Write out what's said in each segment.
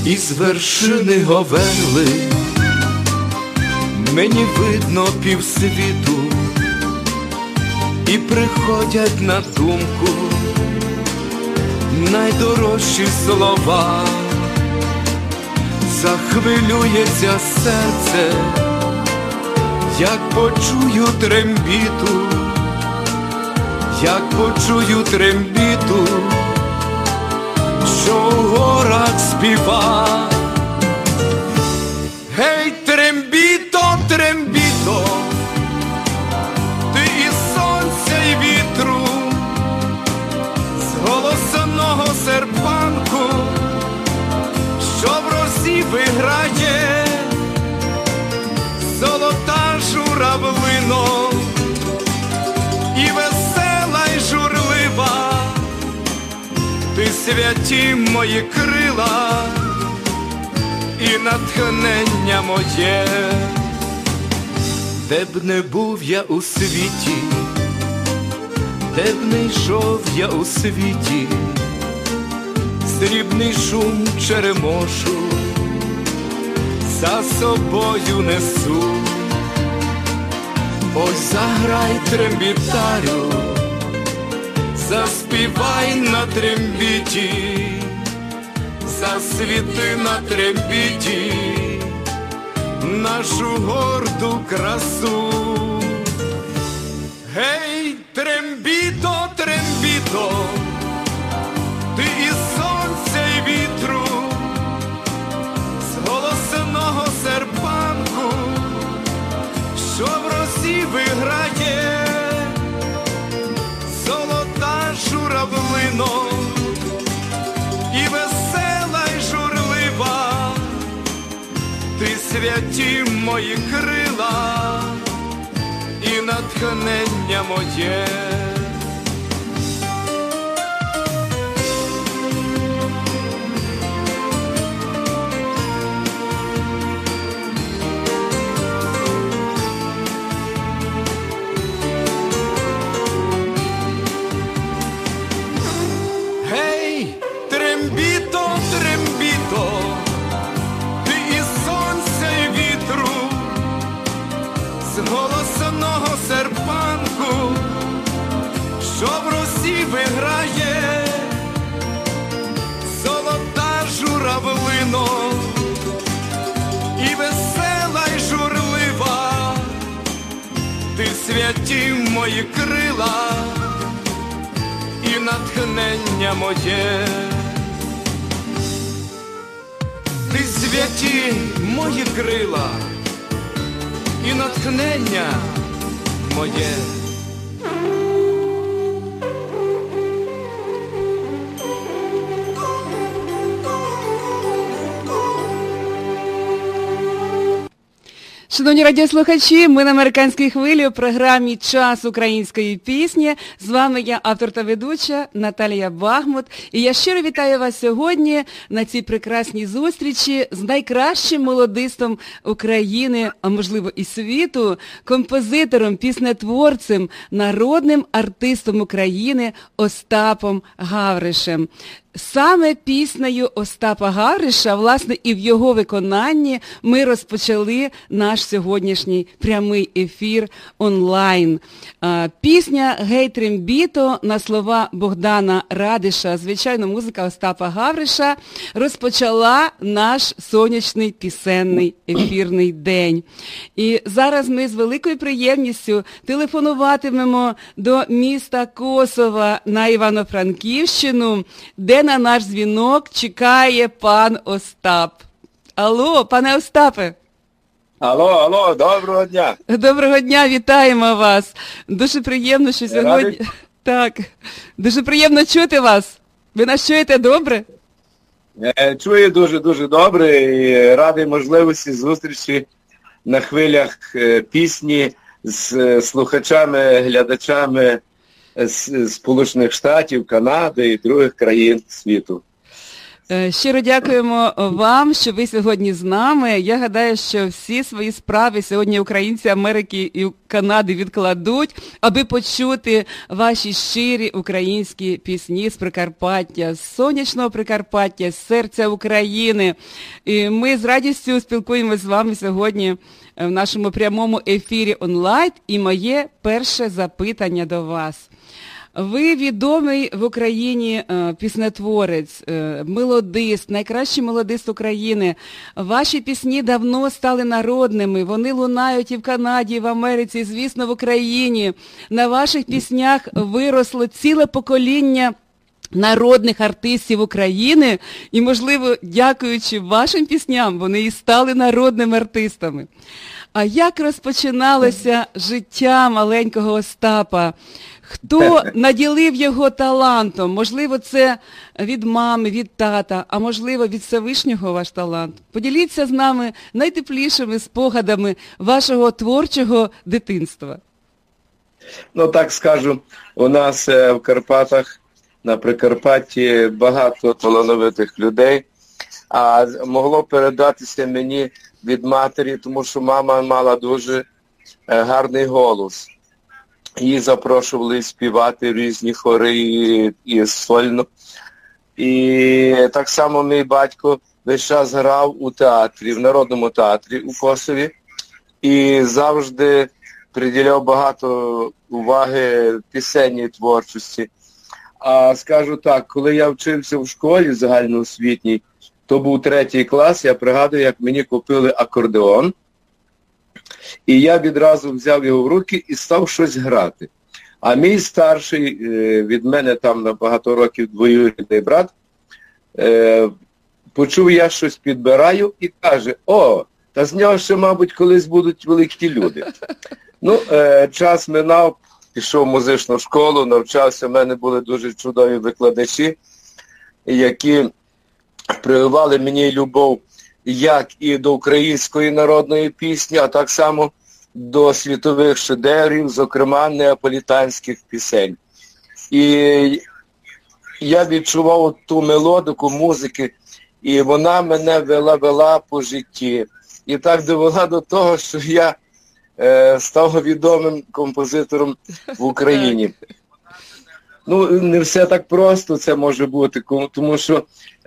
Із вершини Говели мені видно півсвіту, і приходять на думку найдорожчі слова. Захвилюється серце, як почую трембіту, як почую трембіту, що в горах співа. Гей, трембіто, трембіто, ти із сонця й вітру, з голосного серпанку, що в росі виграє, золота журавлино, і весела й журлива, ти святі мої крила і натхнення моє. Де б не був я у світі, де б не йшов я у світі, срібний шум черемошу за собою несу. Ось заграй, трембітарю, заспівай на трембіті, засвіти на трембіті нашу горду красу. Гей, трембіто, трембіто, ти із сонця й вітру, з голосного серпанку, що в росі виграє, золота журавлино, і весела й журлива, ти святі мої крила і натхнення моє. Голосного серпанку, що в росі виграє, золота журавлино, і весела й журлива, ти святі мої крила і натхнення моє. Ти святі мої крила і натхнення моє. Шановні радіослухачі, ми на американській хвилі у програмі «Час української пісні». З вами я, автор та ведуча Наталія Багмут. І я щиро вітаю вас сьогодні на цій прекрасній зустрічі з найкращим молодистом України, а можливо і світу, композитором, піснетворцем, народним артистом України Остапом Гавришем. Саме піснею Остапа Гавриша, власне, і в його виконанні ми розпочали наш сьогоднішній прямий ефір онлайн. Пісня «Гей, трембіто» на слова Богдана Радиша, звичайно, музика Остапа Гавриша, розпочала наш сонячний пісенний ефірний день. І зараз ми з великою приємністю телефонуватимемо до міста Косова на Івано-Франківщину, де на наш дзвінок чекає пан Остап. Алло, пане Остапе. Алло, доброго дня. Доброго дня, вітаємо вас. Дуже приємно, що сьогодні... Так, дуже приємно чути вас. Ви нас чуєте добре? Чую дуже добре і радий можливості зустрічі на хвилях пісні з слухачами, глядачами з Сполучених Штатів, Канади і других країн світу. Щиро дякуємо вам, що ви сьогодні з нами. Я гадаю, що всі свої справи сьогодні українці Америки і Канади відкладуть, аби почути ваші щирі українські пісні з Прикарпаття, з сонячного Прикарпаття, з серця України. І ми з радістю спілкуємося з вами сьогодні в нашому прямому ефірі онлайн. І моє перше запитання до вас. Ви відомий в Україні піснетворець, мелодист, найкращий мелодист України. Ваші пісні давно стали народними, вони лунають і в Канаді, і в Америці, і, звісно, в Україні. На ваших піснях виросло ціле покоління народних артистів України, і, можливо, дякуючи вашим пісням, вони і стали народними артистами. А як розпочиналося життя маленького Остапа? Хто наділив його талантом? Можливо, це від мами, від тата, а можливо, від Всевишнього ваш талант. Поділіться з нами найтеплішими спогадами вашого творчого дитинства. Ну, так скажу, у нас в Карпатах, на Прикарпатті багато талановитих людей, а могло передатися мені від матері, тому що мама мала дуже гарний голос. Її запрошували співати різні хори і сольно. І так само мій батько весь час грав у театрі, в Народному театрі у Косові. І завжди приділяв багато уваги пісенній творчості. А скажу так, коли я вчився в школі загальноосвітній, то був 3 клас, я пригадую, як мені купили акордеон. І я відразу взяв його в руки і став щось грати. А мій старший, від мене там на багато років двоюрідний брат, почув, я щось підбираю і каже: о, та з нього ще, мабуть, колись будуть великі люди. Ну, час минав, пішов в музичну школу, навчався, в мене були дуже чудові викладачі, які прививали мені любов як і до української народної пісні, а так само до світових шедеврів, зокрема неаполітанських пісень. І я відчував ту мелодику музики, і вона мене вела по житті. І так довела до того, що я став відомим композитором в Україні. Ну, не все так просто це може бути, тому що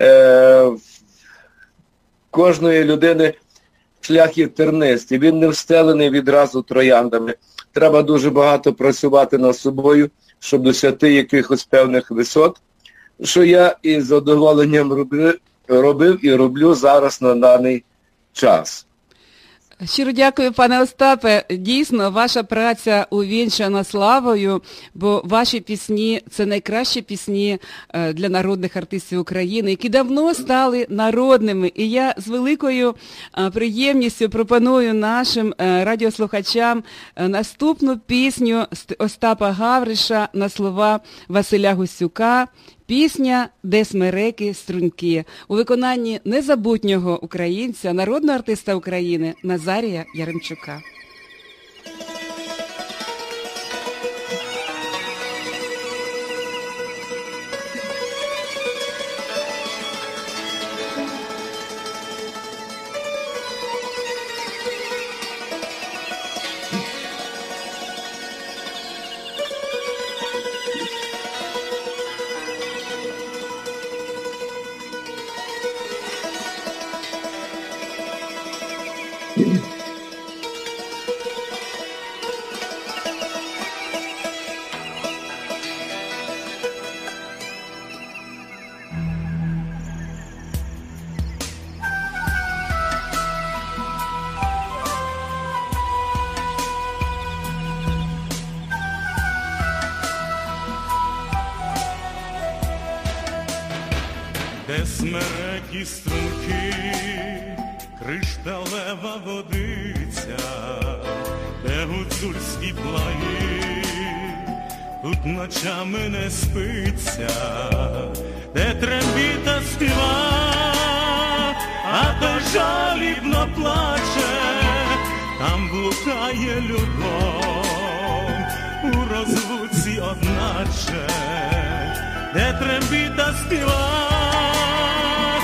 кожної людини шлях є тернистий, він не встелений відразу трояндами. Треба дуже багато працювати над собою, щоб досягти якихось певних висот, що я із задоволенням робив і роблю зараз на даний час. Щиро дякую, пане Остапе. Дійсно, ваша праця увінчана славою, бо ваші пісні – це найкращі пісні для народних артистів України, які давно стали народними. І я з великою приємністю пропоную нашим радіослухачам наступну пісню Остапа Гавриша на слова Василя Гусюка. Пісня «Де смереки струнки» у виконанні незабутнього українця, народного артиста України Назарія Яремчука. Де смерекі струнки, кришталева водиця, де гуцульські плаї, тут ночами не спиться, де трембіта співа, а то жалібно плаче, там блукає любов, у розлуці одначе, де трембіта співа,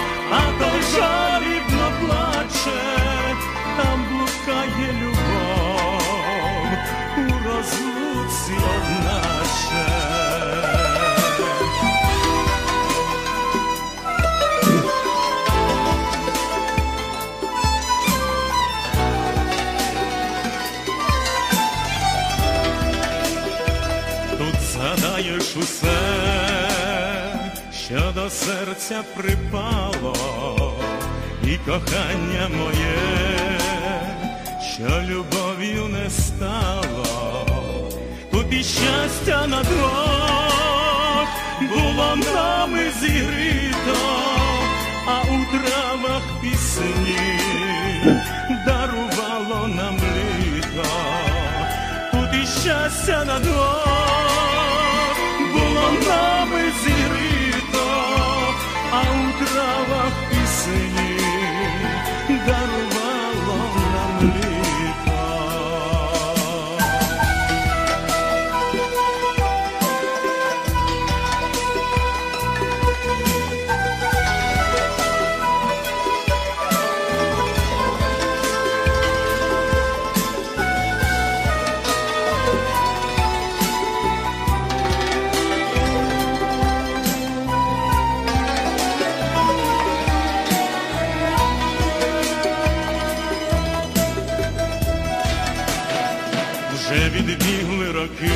жалібно плаче, там блукає любов, у розлуці одначе. Тут згадаєш усе, що до серця припало, і кохання моє, що любов'ю не стало. Тут і щастя на двох було нами зігріто, а у травах пісні дарувало нам літо. Тут і щастя на двох було нами зігріто, а у травах пісні дарувало нам літо. Вже відбігли роки,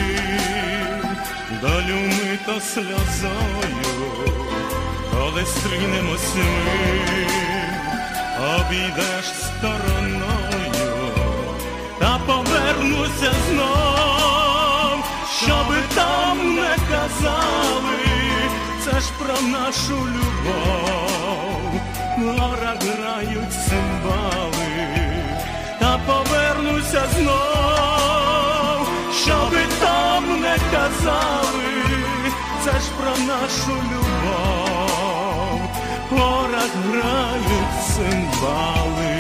долю мито сльозою, коли стрінемось ми, обійдеш стороною, та повернуся знов, щоби там не казали, це ж про нашу любов, в горах грають цимбали, та повернуся знов, щоби там не казали, це ж про нашу любов, в горах грають цимбали.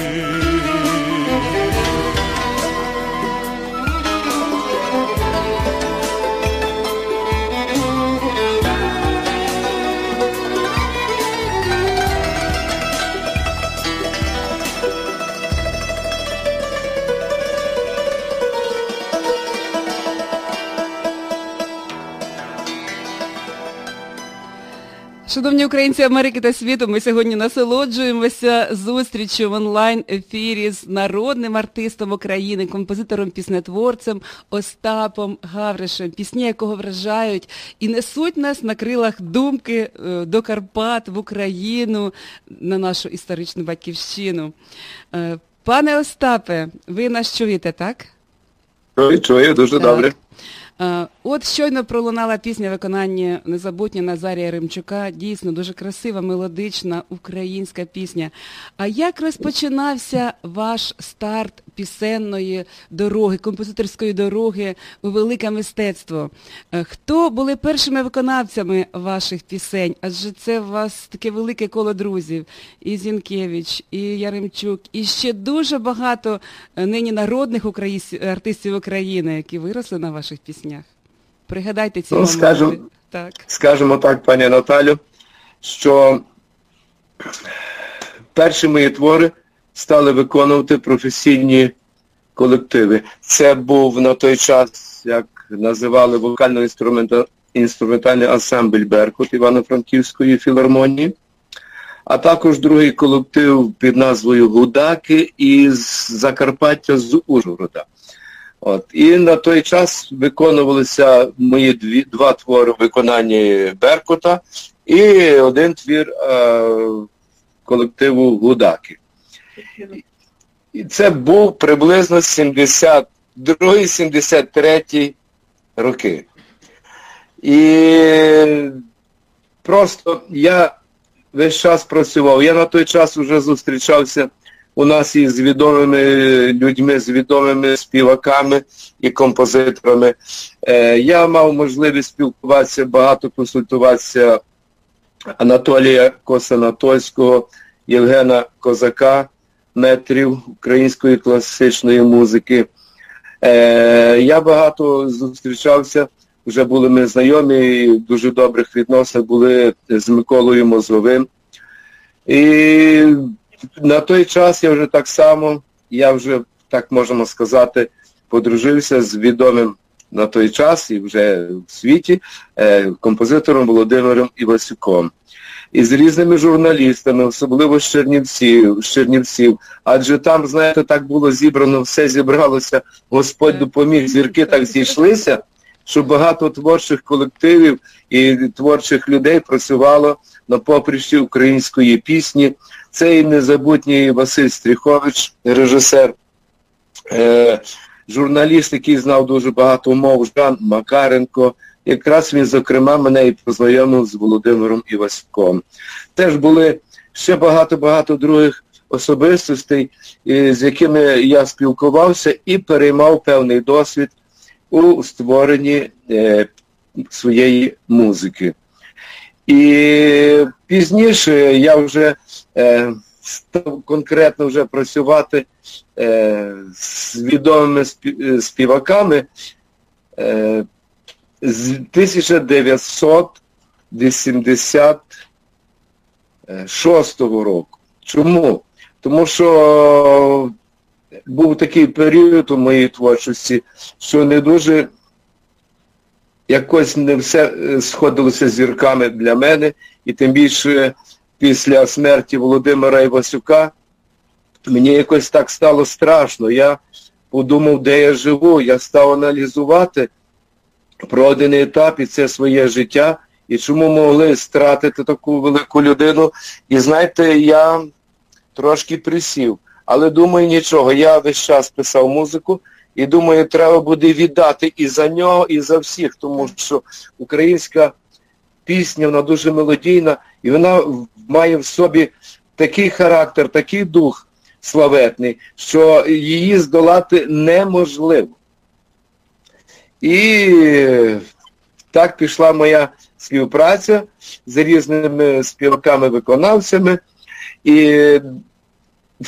Шановні українці Америки та світу, ми сьогодні насолоджуємося зустрічю в онлайн-ефірі з народним артистом України, композитором-піснетворцем Остапом Гавришем, пісні якого вражають і несуть нас на крилах думки до Карпат, в Україну, на нашу історичну батьківщину. Пане Остапе, ви нас чуєте, так? Чую, дуже добре. От щойно пролунала пісня виконання незабутня Назарія Римчука. Дійсно, дуже красива, мелодична українська пісня. А як розпочинався ваш старт пісенної дороги, композиторської дороги у велике мистецтво? Хто були першими виконавцями ваших пісень? Адже це у вас таке велике коло друзів. І Зінкевич, і Яремчук, і ще дуже багато нині народних артистів України, які виросли на ваших піснях. Пригадайте ці моменти. Скажемо так, пані Наталю, що перші мої твори стали виконувати професійні колективи. Це був на той час, як називали вокально-інструментальний ансамбль «Беркут» Івано-Франківської філармонії, а також другий колектив під назвою «Гудаки» із Закарпаття, з Ужгорода. І на той час виконувалися мої два твори в виконанні «Беркута» і один твір колективу «Гудаки». І це був приблизно 72-73 роки. І просто я весь час працював. Я на той час вже зустрічався у нас із відомими людьми, з відомими співаками і композиторами. Я мав можливість спілкуватися, багато консультуватися Анатолія Косанатольського, Євгена Козака, метрів української класичної музики. Я багато зустрічався, вже були ми знайомі, і в дуже добрих відносинах були з Миколою Мозговим. І на той час я вже так само, так можемо сказати, подружився з відомим на той час і вже в світі композитором Володимиром Івасюком. І з різними журналістами, особливо з Чернівців. Адже там, знаєте, так було зібрано, все зібралося, Господь допоміг, зірки так зійшлися, що багато творчих колективів і творчих людей працювало на поприщі української пісні. Це і незабутній Василь Стріхович, режисер, журналіст, який знав дуже багато мов, Жан Макаренко. Якраз він, зокрема, мене і познайомив з Володимиром Івасюком. Теж були ще багато-багато других особистостей, з якими я спілкувався і переймав певний досвід у створенні своєї музики. І пізніше я вже став конкретно вже працювати з відомими співаками з 1986 року. Чому? Тому що був такий період у моїй творчості, що не дуже якось не все сходилося з зірками для мене, і тим більше після смерті Володимира Івасюка мені якось так стало страшно. Я подумав, де я живу, я став аналізувати пройдений етап і це своє життя, і чому могли стратити таку велику людину. І знаєте, я трошки присів, але думаю, нічого, я весь час писав музику, і думаю, треба буде віддати і за нього, і за всіх, тому що українська пісня, вона дуже мелодійна, і вона має в собі такий характер, такий дух славетний, що її здолати неможливо. І так пішла моя співпраця з різними співаками-виконавцями. І в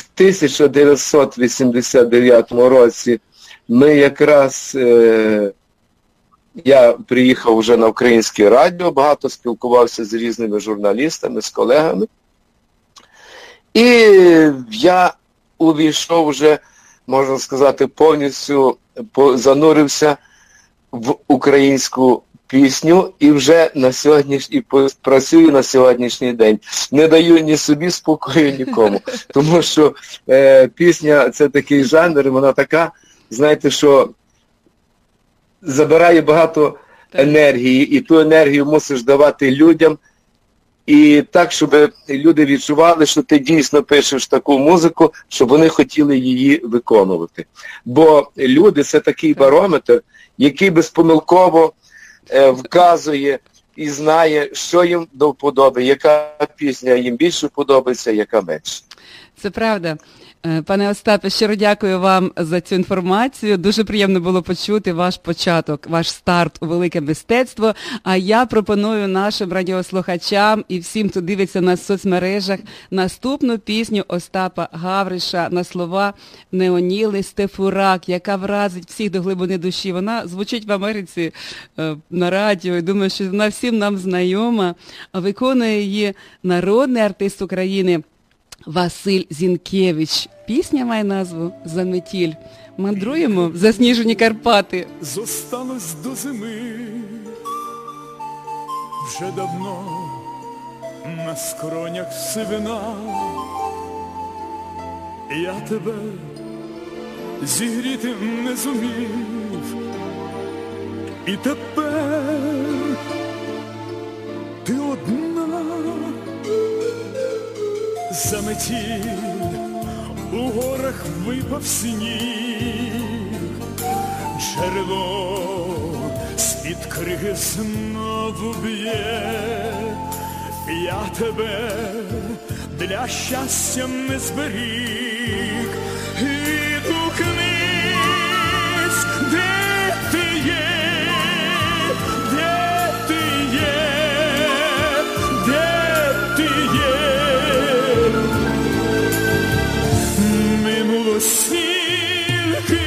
1989 році ми якраз, я приїхав вже на Українське радіо, багато спілкувався з різними журналістами, з колегами. І я увійшов вже, можна сказати, повністю занурився в українську пісню і вже працюю на сьогоднішній день. Не даю ні собі спокою, нікому. Тому що пісня – це такий жанр, вона така, знаєте, що забирає багато енергії, і ту енергію мусиш давати людям, і так, щоб люди відчували, що ти дійсно пишеш таку музику, щоб вони хотіли її виконувати. Бо люди – це такий барометр, який безпомилково вказує і знає, що їм до вподоби, яка пісня їм більше подобається, яка менше. Це правда. Пане Остапе, щиро дякую вам за цю інформацію. Дуже приємно було почути ваш початок, ваш старт у велике мистецтво. А я пропоную нашим радіослухачам і всім, хто дивиться на соцмережах, наступну пісню Остапа Гавриша на слова Неоніли Стефурак, яка вразить всіх до глибини душі. Вона звучить в Америці на радіо, і думаю, що вона всім нам знайома. Виконує її народний артист України Василь Зінкевич. Пісня має назву «Заметіль». Мандруємо в засніжені Карпати. Зосталось до зими вже давно на скронях сивина. Я тебе зігріти не зумів, і тепер ти одна. Заметіль, у горах випав сніг, джерело з-під криги знову б'є. Я тебе для щастя не зберіг. Відгукнись, де ти є, де ти є, де ти є. Минуло стільки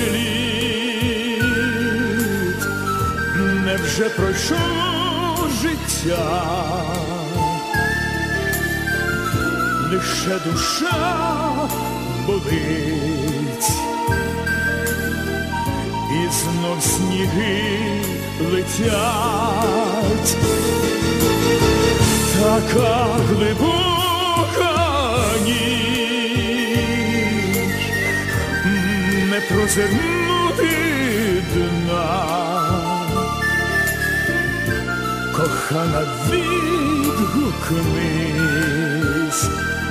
літ, невже пройшло життя, лише душа болить, і знов сніги летять. Така глибока ніч, не прозирнути дна. Кохана, відгукнись,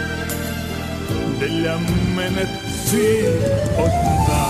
для мене ти одна.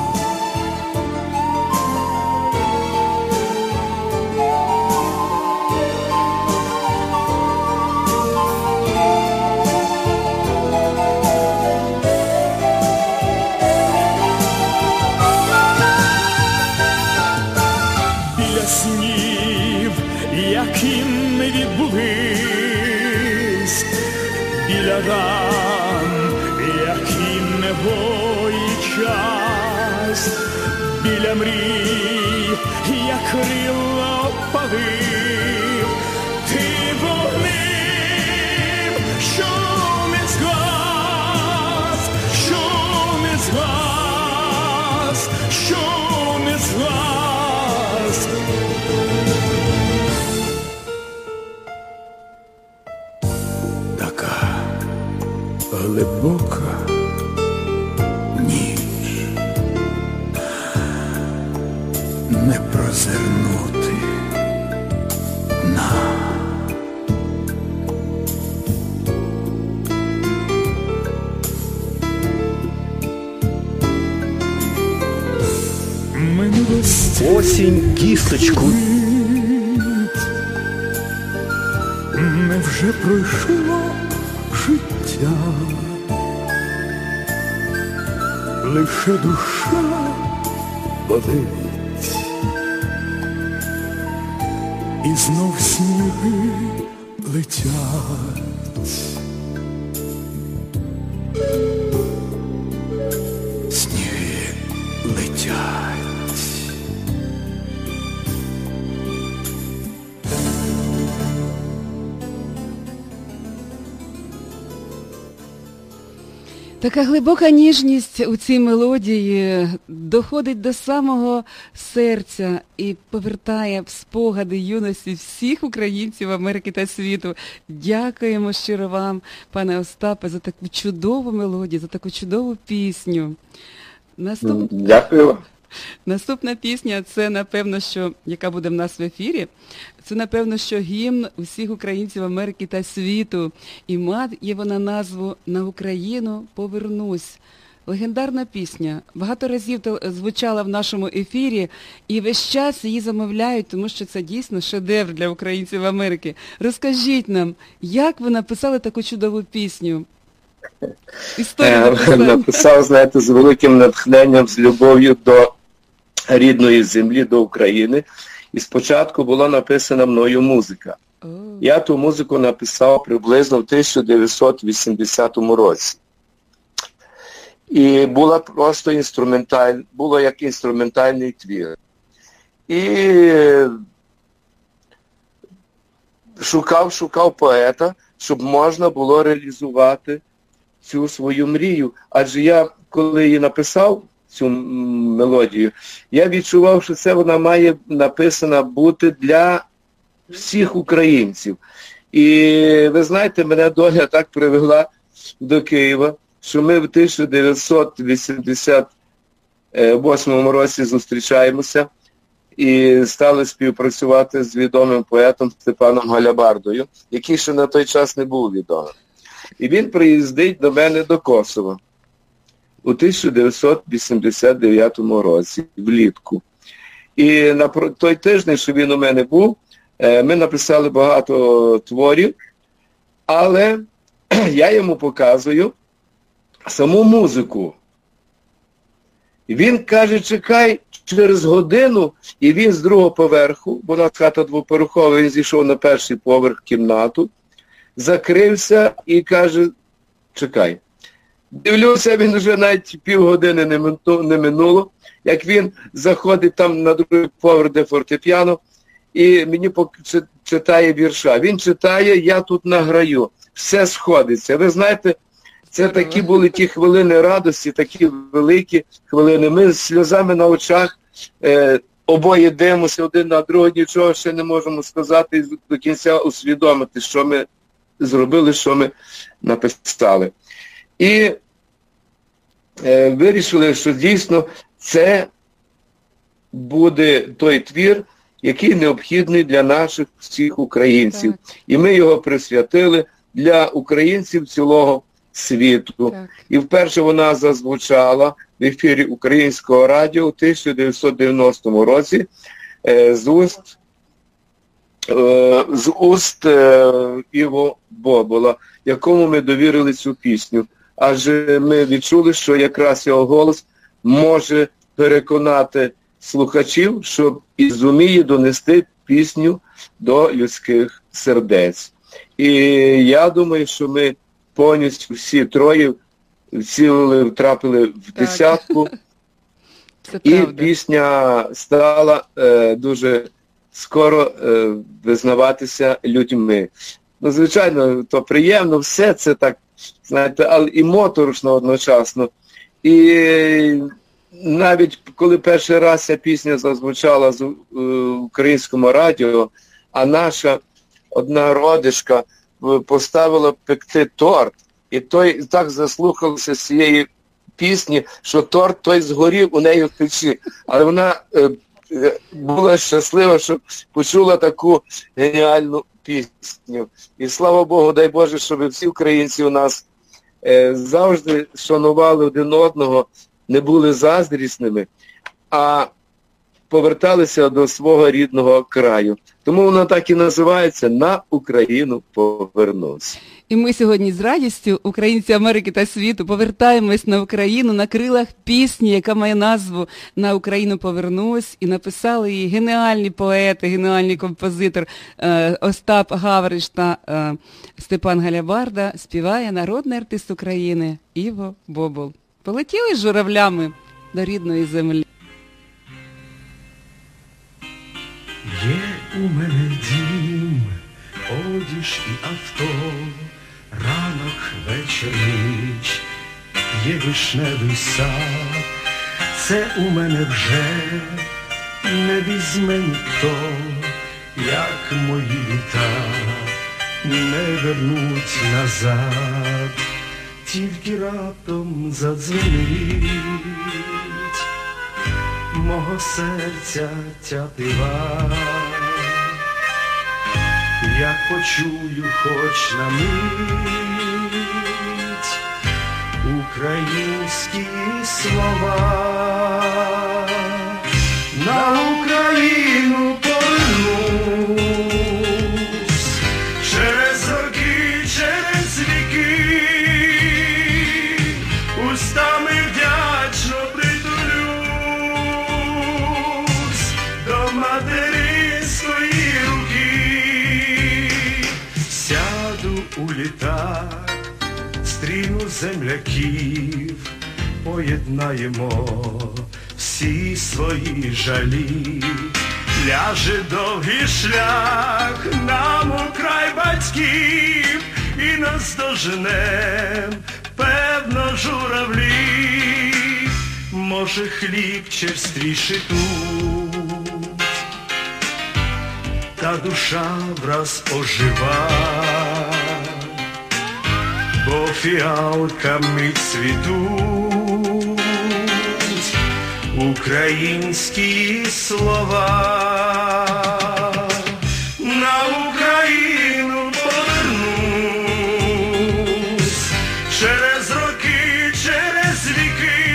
Біля снів, які не відбулись, біля ран, які не гоїть час, біля мрій, як крила опалив, ти вогнем, що не згас, що не згас, що не згас. Така глибока ніч, не прозирнути дна. Минулості Осінь кісточку. невже пройшло життя, лише душа болить, і знов сніги летять. Сніги летять. Така глибока ніжність у цій мелодії доходить до самого серця і повертає в спогади юності всіх українців Америки та світу. Дякуємо щиро вам, пане Остапе, за таку чудову мелодію, за таку чудову пісню. Дякую вам. Наступна пісня, це, напевно, що, яка буде в нас в ефірі, це, напевно, що гімн усіх українців Америки та світу. І має вона назву «На Україну повернусь». Легендарна пісня. Багато разів звучала в нашому ефірі, і весь час її замовляють, тому що це дійсно шедевр для українців Америки. Розкажіть нам, як ви написали таку чудову пісню? Написав, знаєте, з великим натхненням, з любов'ю до рідної землі, до України. І спочатку була написана мною музика. Я ту музику написав приблизно в 1980 році. І була просто було як інструментальний твір. І шукав поета, щоб можна було реалізувати цю свою мрію. Адже я, коли її написав, цю мелодію, я відчував, що це вона має написана бути для всіх українців. І ви знаєте, мене доля так привела до Києва, що ми в 1988 році зустрічаємося і стали співпрацювати з відомим поетом Степаном Галябардою, який ще на той час не був відомим. І він приїздить до мене до Косова у 1989 році, влітку. І на той тиждень, що він у мене був, ми написали багато творів, але я йому показую саму музику. І він каже, чекай, через годину, і він з другого поверху, бо у нас хата двоповерхова, він зійшов на перший поверх кімнату, закрився і каже, чекай. Дивлюся, він вже навіть півгодини не минуло, як він заходить там на другий поверх, де фортепіано, і мені читає вірша. Він читає «Я тут награю». Все сходиться. Ви знаєте, це такі були ті хвилини радості, такі великі хвилини. Ми з сльозами на очах обоє дивимося один на другого, нічого ще не можемо сказати і до кінця усвідомити, що ми зробили, що ми написали. І вирішили, що дійсно це буде той твір, який необхідний для наших всіх українців. Так. І ми його присвятили для українців цілого світу. Так. І вперше вона зазвучала в ефірі Українського радіо у 1990 році з уст Іво Бобола, якому ми довірили цю пісню. Адже ми відчули, що якраз його голос може переконати слухачів, що і зуміє донести пісню до людських сердець. І я думаю, що ми повністю всі троє втрапили в десятку. І пісня стала дуже скоро визнаватися людьми. Ну, звичайно, то приємно, все це так, знаєте, але і моторошно одночасно. І навіть коли перший раз ця пісня зазвучала в Українському радіо, а наша одна родичка поставила пекти торт, і той так заслухався з цієї пісні, що торт той згорів у неї в печі. Але вона була щаслива, що почула таку геніальну пісню. І слава Богу, дай Боже, щоб всі українці у нас завжди шанували один одного, не були заздрісними, а поверталися до свого рідного краю. Тому воно так і називається «На Україну повернусь». І ми сьогодні з радістю, українці Америки та світу, повертаємось на Україну на крилах пісні, яка має назву «На Україну повернусь», і написали її геніальні поети, геніальний композитор Остап Гавриш та Степан Галябарда, співає народний артист України Іво Бобол. Полетіли з журавлями до рідної землі. Є у мене дім, одіж і авто, ранок, вечір, ніч, є вишневий сад. Це у мене вже не візьме ніхто, як мої літа не вернуть назад. Тільки раптом задзвенить мого серця тятива. Я почую хоч на мить українські слова. На Україну повернусь через роки, через віки, устами вдячно притулюсь до материнської руки. Сяду у літак, стріну земляків, поєднаємо всі свої жалі. Ляже довгий шлях нам у край батьків, і наздоженем, певно, журавлі. Може, хліб черствіший тут, та душа враз ожива, бо фіалками цвітуть українські слова. На Україну повернусь через роки, через віки,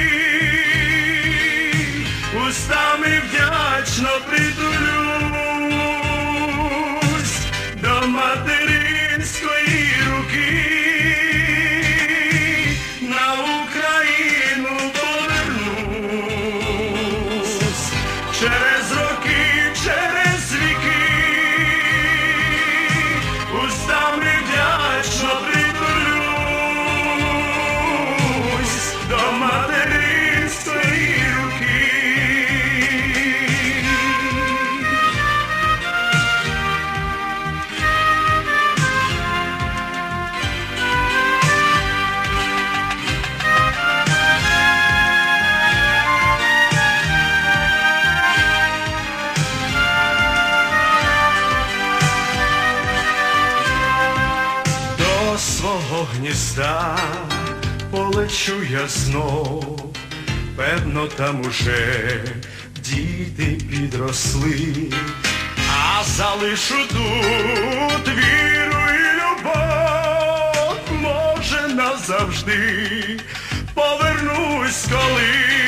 устами вдячно притулюсь до материнської руки. На Україну повернусь через роки, через поїзда полечу я знов, певно там уже діти підросли, а залишу тут віру і любов, може назавжди повернусь колись.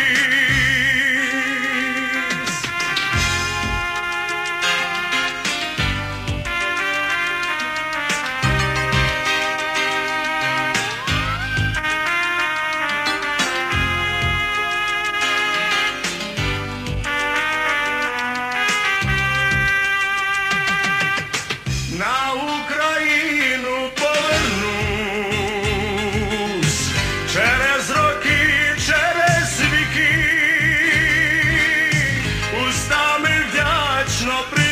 На Україну повернусь через роки, через віки, устами вдячно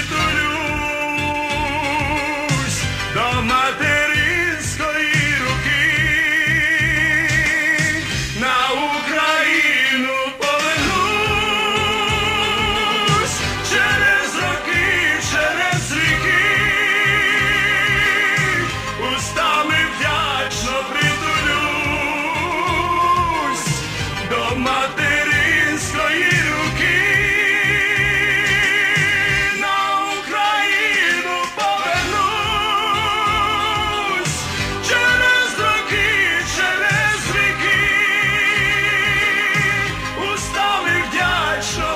притулюсь до материнської руки. На Україну повернусь через роки, через віки, устами вдячно притулюсь до материнської руки. На Україну повернусь через роки, через віки, устами вдячно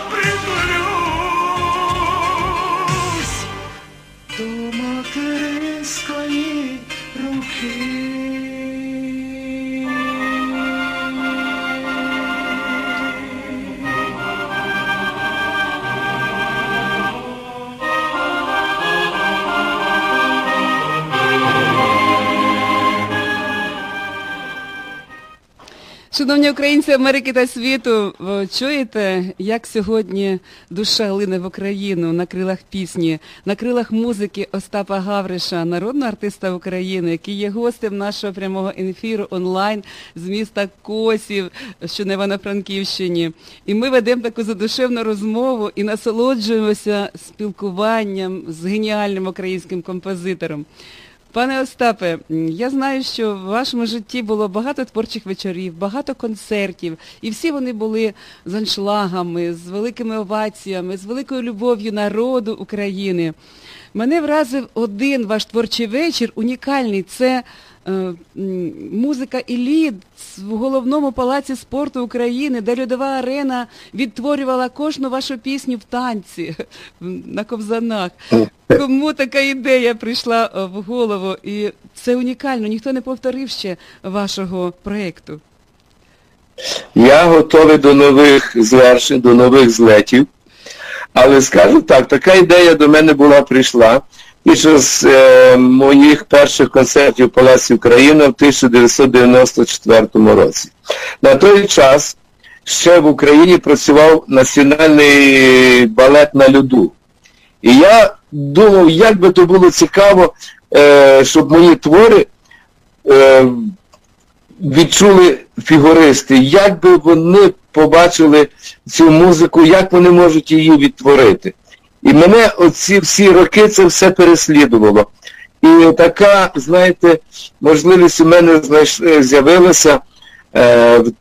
притулюсь до материнської руки. Шановні українці Америки та світу, ви чуєте, як сьогодні душа лине в Україну на крилах пісні, на крилах музики Остапа Гавриша, народного артиста України, який є гостем нашого прямого ефіру онлайн з міста Косів, що на Івано-Франківщині. І ми ведемо таку задушевну розмову і насолоджуємося спілкуванням з геніальним українським композитором. Пане Остапе, я знаю, що в вашому житті було багато творчих вечорів, багато концертів, і всі вони були з аншлагами, з великими оваціями, з великою любов'ю народу України. Мене вразив один ваш творчий вечір, унікальний, це музика «Еліт» в головному палаці спорту України, де Льодова арена відтворювала кожну вашу пісню в танці на ковзанах. Кому така ідея прийшла в голову? І це унікально, ніхто не повторив ще вашого проєкту. Я готовий до нових звершень, до нових злетів. Але скажу так, така ідея до мене прийшла під час моїх перших концертів в Палаці Україна в 1994 році. На той час ще в Україні працював національний балет на льоду. І я думав, як би то було цікаво, щоб мої твори відчули фігуристи, як би вони побачили цю музику, як вони можуть її відтворити. І мене оці всі роки це все переслідувало. І така, знаєте, можливість у мене з'явилася в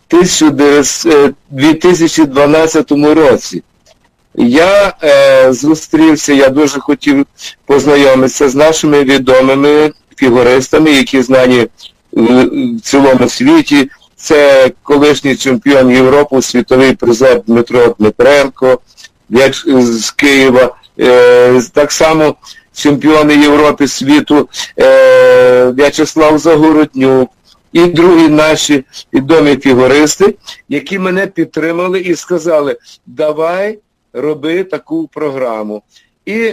2012 році. Я зустрівся, я дуже хотів познайомитися з нашими відомими фігуристами, які знані в цілому світі. Це колишній чемпіон Європи, світовий призер Дмитро Дмитренко з Києва, так само чемпіони Європи, світу В'ячеслав Загороднюк і другі наші відомі фігуристи, які мене підтримали і сказали, давай роби таку програму. І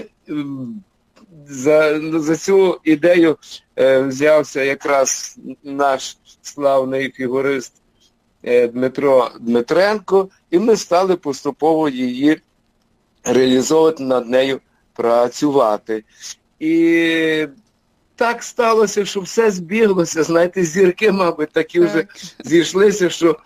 за цю ідею взявся якраз наш славний фігурист Дмитро Дмитренко, і ми стали поступово її реалізовувати, над нею працювати. І так сталося, що все збіглося, знаєте, зірки, мабуть, такі вже зійшлися, що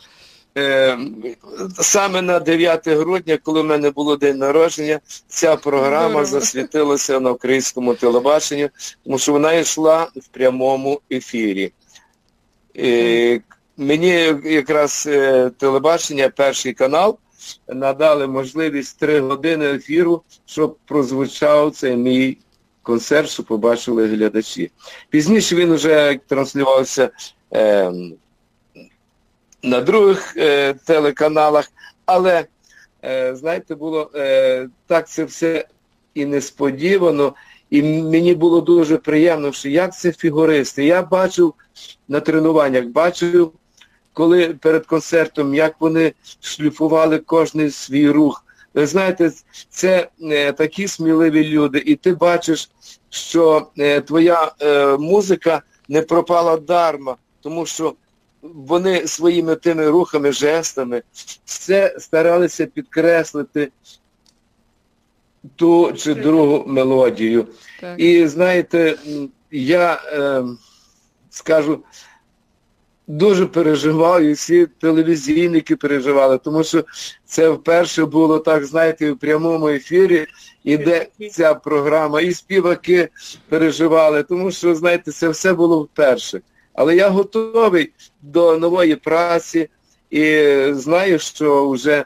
саме на 9 грудня, коли в мене було день народження, ця програма засвітилася на українському телебаченні, тому що вона йшла в прямому ефірі. Мені якраз телебачення, Перший канал, надали можливість 3 години ефіру, щоб прозвучав цей мій концерт, щоб побачили глядачі. Пізніше він вже транслювався на других телеканалах, але, знаєте, було так це все і несподівано, і мені було дуже приємно, що як це фігуристи. Я бачив на тренуваннях, бачив, коли перед концертом, як вони шліфували кожний свій рух. Ви знаєте, це такі сміливі люди, і ти бачиш, що твоя музика не пропала дарма, тому що вони своїми тими рухами, жестами все старалися підкреслити ту чи другу мелодію. Так. І знаєте, я скажу, дуже переживав, і всі телевізійники переживали, тому що це вперше було так, знаєте, в прямому ефірі іде ця програма, і співаки переживали, тому що, знаєте, це все було вперше. Але я готовий до нової праці і знаю, що вже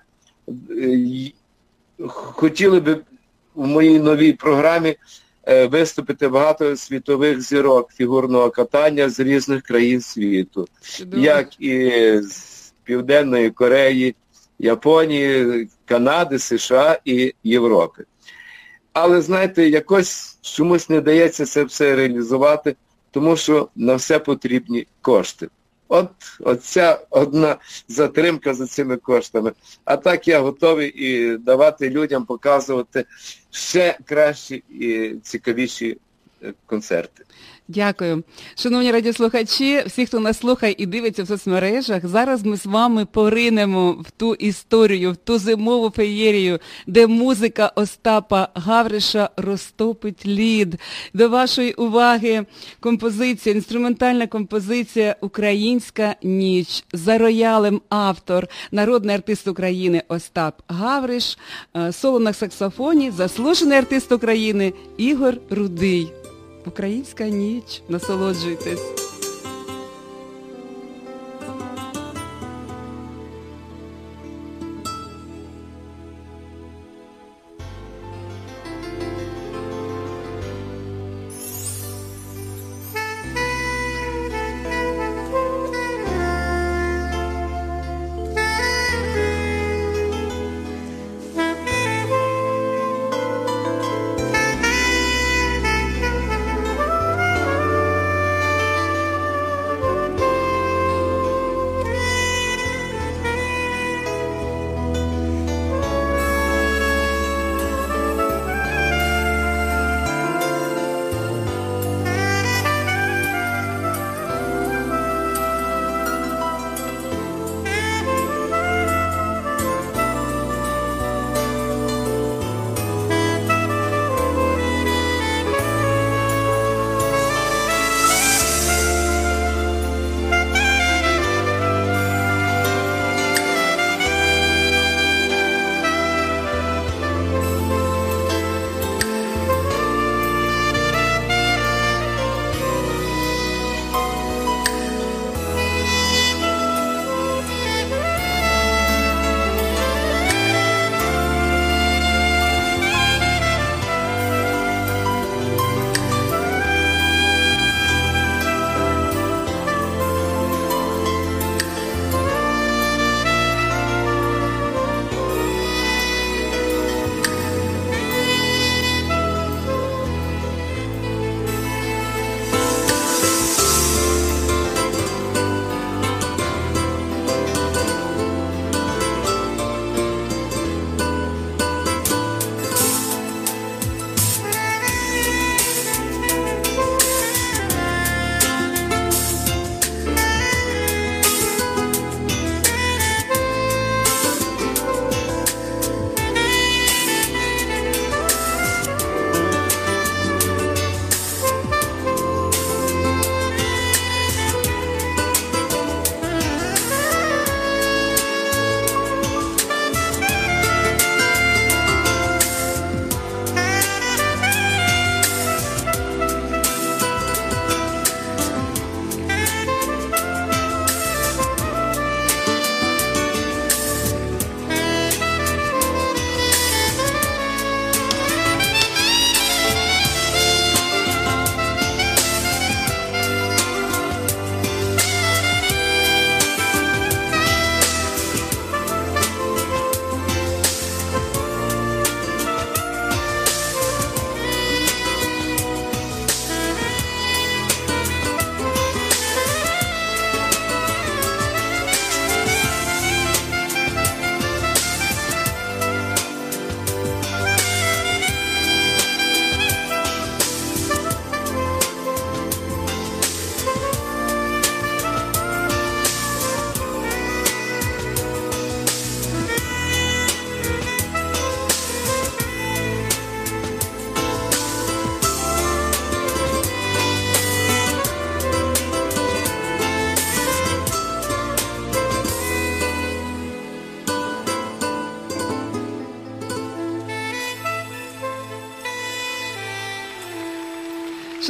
хотіли би в моїй новій програмі виступити багато світових зірок фігурного катання з різних країн світу. Чудово. Як і з Південної Кореї, Японії, Канади, США і Європи. Але, знаєте, якось чомусь не дається це все реалізувати, тому що на все потрібні кошти. От ця одна затримка за цими коштами. А так я готовий і давати людям показувати ще кращі і цікавіші концерти. Дякую. Шановні радіослухачі, всі, хто нас слухає і дивиться в соцмережах, зараз ми з вами поринемо в ту історію, в ту зимову феєрію, де музика Остапа Гавриша розтопить лід. До вашої уваги композиція, інструментальна композиція «Українська ніч». За роялем автор, народний артист України Остап Гавриш, соло на саксофоні, заслужений артист України Ігор Рудий. Українська ніч. Насолоджуйтесь.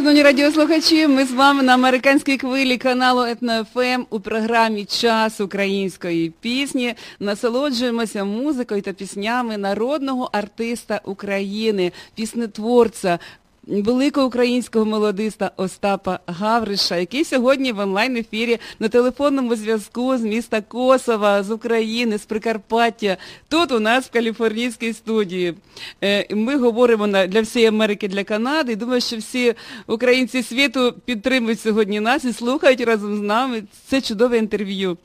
Шановні радіослухачі, ми з вами на американській хвилі каналу Етно-ФМ у програмі «Час української пісні». Насолоджуємося музикою та піснями народного артиста України, піснетворця, великого українського мелодиста Остапа Гавриша, який сьогодні в онлайн-ефірі на телефонному зв'язку з міста Косова, з України, з Прикарпаття, тут у нас в каліфорнійській студії. Ми говоримо для всієї Америки, для Канади, і думаю, що всі українці світу підтримують сьогодні нас і слухають разом з нами це чудове інтерв'ю.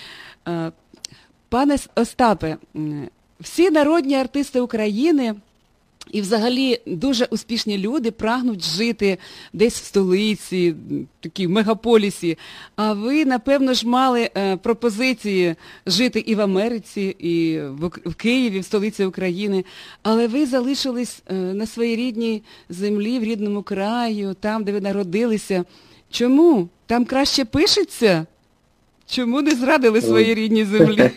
Пане Остапе, всі народні артисти України і взагалі дуже успішні люди прагнуть жити десь в столиці, такій мегаполісі. А ви, напевно ж, мали пропозиції жити і в Америці, і в Києві, в столиці України. Але ви залишились на своїй рідній землі, в рідному краю, там, де ви народилися. Чому? Там краще пишеться? Чому не зрадили своїй рідній землі?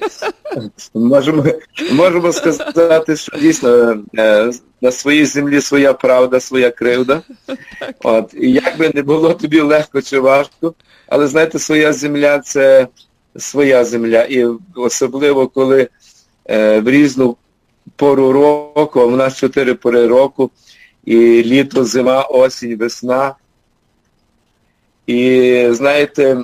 Можемо сказати, що дійсно на своїй землі своя правда, своя кривда. От. І як би не було тобі легко чи важко, але знаєте, своя земля – це своя земля. І особливо, коли в різну пору року, а в нас 4 пори року, і літо, зима, осінь, весна. І знаєте,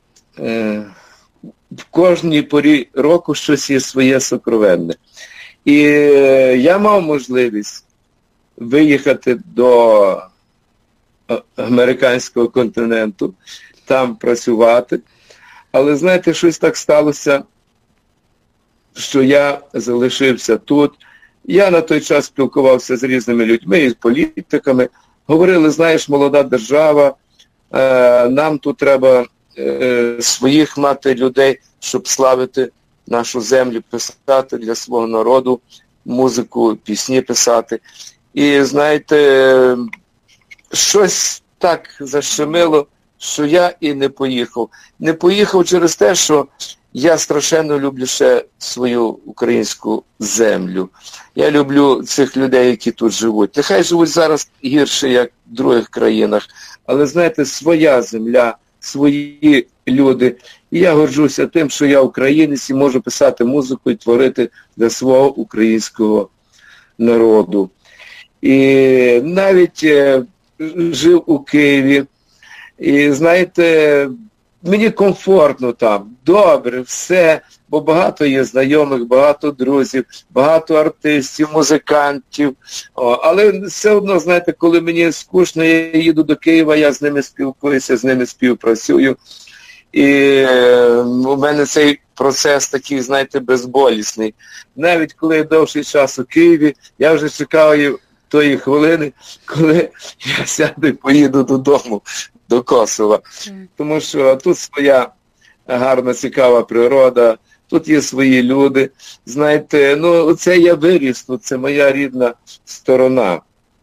в кожній порі року щось є своє сокровенне. І я мав можливість виїхати до американського континенту, там працювати. Але, знаєте, щось так сталося, що я залишився тут. Я на той час спілкувався з різними людьми і з політиками. Говорили, знаєш, молода держава, нам тут треба своїх мати людей, щоб славити нашу землю, писати для свого народу, музику, пісні писати. І, знаєте, щось так защемило, що я і не поїхав. Не поїхав через те, що я страшенно люблю ще свою українську землю. Я люблю цих людей, які тут живуть. Нехай живуть зараз гірше, як в других країнах, але, знаєте, своя земля, свої люди. І я горджуся тим, що я українець і можу писати музику і творити для свого українського народу. І навіть жив у Києві. І, знаєте, мені комфортно там, добре, все, бо багато є знайомих, багато друзів, багато артистів, музикантів. Але все одно, знаєте, коли мені скучно, я їду до Києва, я з ними спілкуюся, з ними співпрацюю. І у мене цей процес такий, знаєте, безболісний. Навіть коли я довший час у Києві, я вже чекаю тої хвилини, коли я сяду і поїду додому, до Косова. Тому що тут своя гарна, цікава природа, тут є свої люди. Знаєте, ну, це я виріс, тут це моя рідна сторона.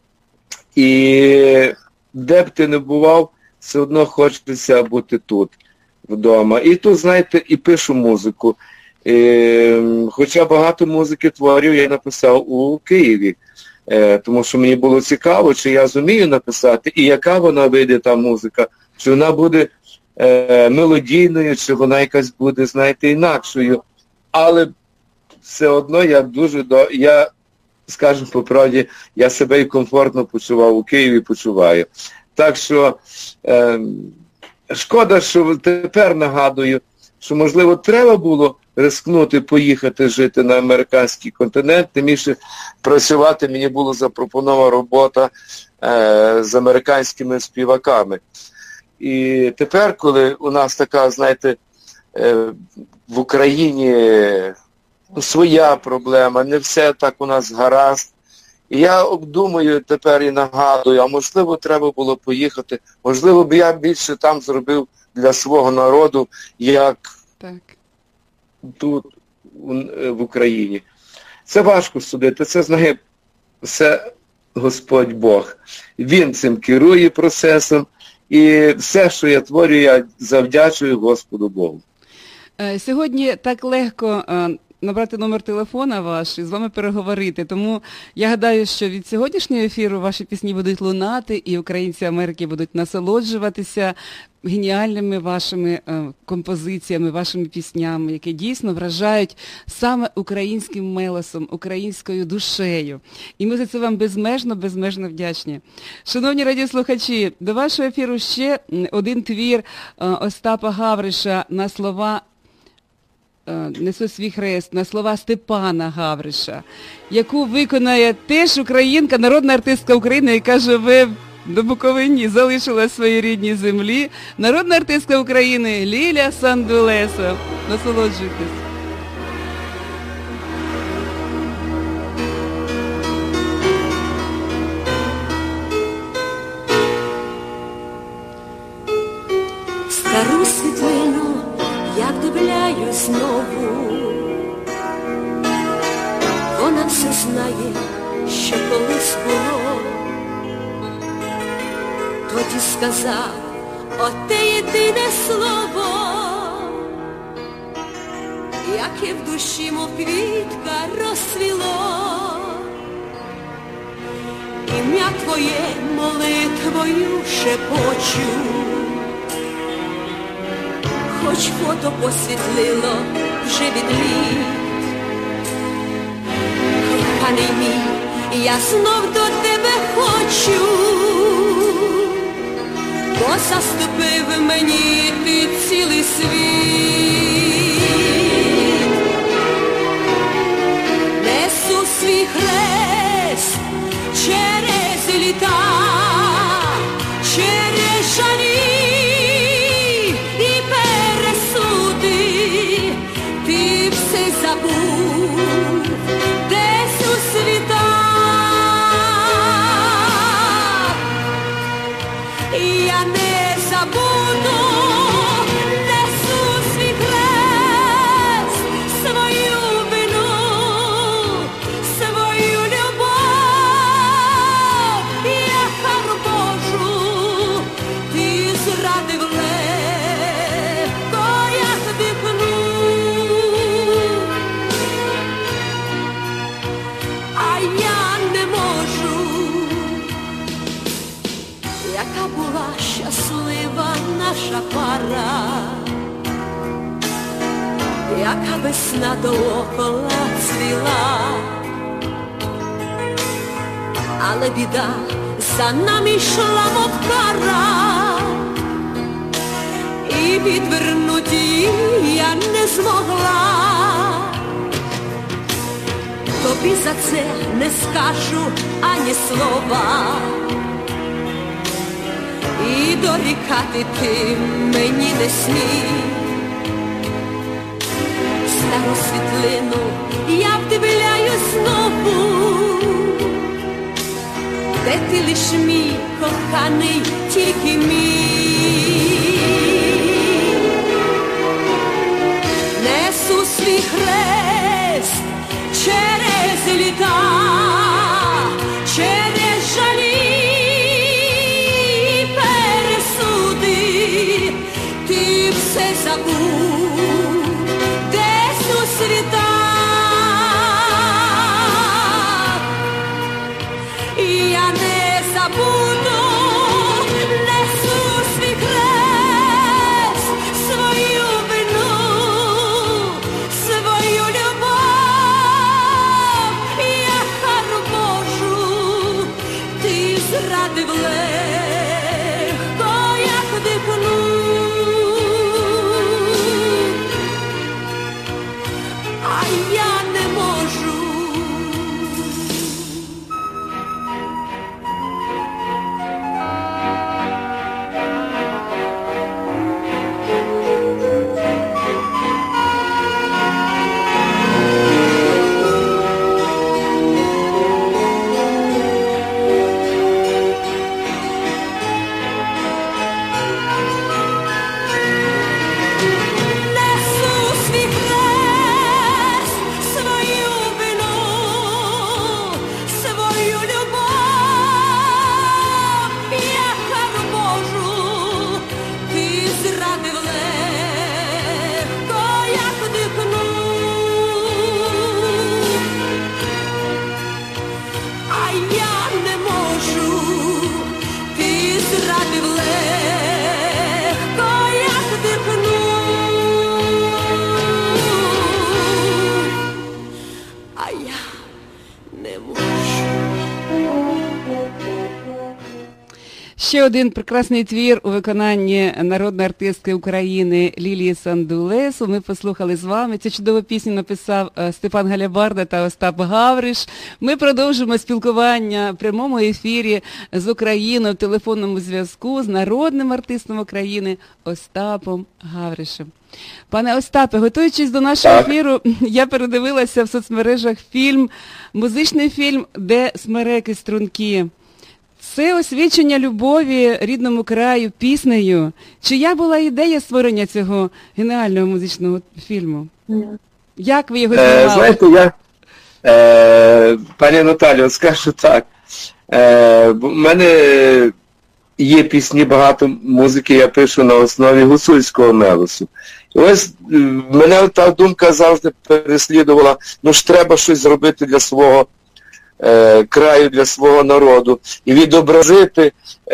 І де б ти не бував, все одно хочеться бути тут, вдома. І тут, знаєте, і пишу музику. Хоча багато музики творів я написав у Києві. Тому що мені було цікаво, чи я зумію написати, і яка вона вийде, та музика, чи вона буде мелодійною, чи вона якась буде, знаєте, інакшою. Але все одно я, скажу по правді, я себе і комфортно почував у Києві, почуваю. Так що шкода, що тепер нагадую, що, можливо, треба було рискнути, поїхати жити на американський континент, тим більше працювати мені була запропонована робота з американськими співаками. І тепер, коли у нас така, знаєте, в Україні своя проблема, не все так у нас гаразд, і я обдумую тепер і нагадую, а можливо треба було поїхати, можливо б я більше там зробив для свого народу, як тут, в Україні. Це важко судити, це знає все Господь Бог. Він цим керує процесом, і все, що я творю, я завдячую Господу Богу. Сьогодні так легко набрати номер телефона ваш і з вами переговорити. Тому я гадаю, що від сьогоднішнього ефіру ваші пісні будуть лунати, і українці Америки будуть насолоджуватися геніальними вашими композиціями, вашими піснями, які дійсно вражають саме українським мелосом, українською душею. І ми за це вам безмежно вдячні. Шановні радіослухачі, до вашого ефіру ще один твір Остапа Гавриша на слова «Несу свій хрест», на слова Степана Гавриша, яку виконає теж українка, народна артистка України, яка живе до Буковині, залишила своїй рідній землі, народна артистка України Ліля Сандулеса. Насолоджуйтесь. Стару світлину, як дивляюсь знову, вона все знає, що колись було. Тоді сказав оте єдине слово, яке в душі, мов квітка, розцвіло. Ім'я твоє молитвою шепочу, хоч фото посвітлило вже від літ. Коханий мій, я знов до тебе хочу, бо заступив мені ти цілий світ. Несу свій хрест через літа, через жалі і пересуди. Ти все забув десь у світах. Я не забуду, несу свій хрест, свою вину, свою любов. Я кару Божу, ти зрадив легко, як дихну. А я не можу. Яка була щаслива наша пара, яка весна доокола цвіла, але біда за нами йшла, мов кара, і відвернути її я не змогла. Тобі за це не скажу ані слова, і дорікати ти мені не смій. Стару світлину я вдивляюсь знову, де ти лиш мій коханий, тільки мій. Несу свій хрест через літа, через жалі. Ти все забув десь у світах. Я не забуду, несу свій хрест. не можу. Ще один прекрасний твір у виконанні народної артистки України Лілії Сандулесу. Ми послухали з вами. Цю чудову пісню написав Степан Галябарда та Остап Гавриш. Ми продовжуємо спілкування в прямому ефірі з Україною в телефонному зв'язку з народним артистом України Остапом Гавришем. Пане Остапе, готуючись до нашого ефіру, я передивилася в соцмережах музичний фільм «Де смереки струнки». Це освідчення любові рідному краю піснею. Чия була ідея створення цього геніального музичного фільму? Як ви його знімали? Знаєте, пані Наталію, скажу так. В мене є пісні, багато музики я пишу на основі гуцульського мелосу. І ось мене та думка завжди переслідувала, ж треба щось зробити для свого краю, для свого народу і відобразити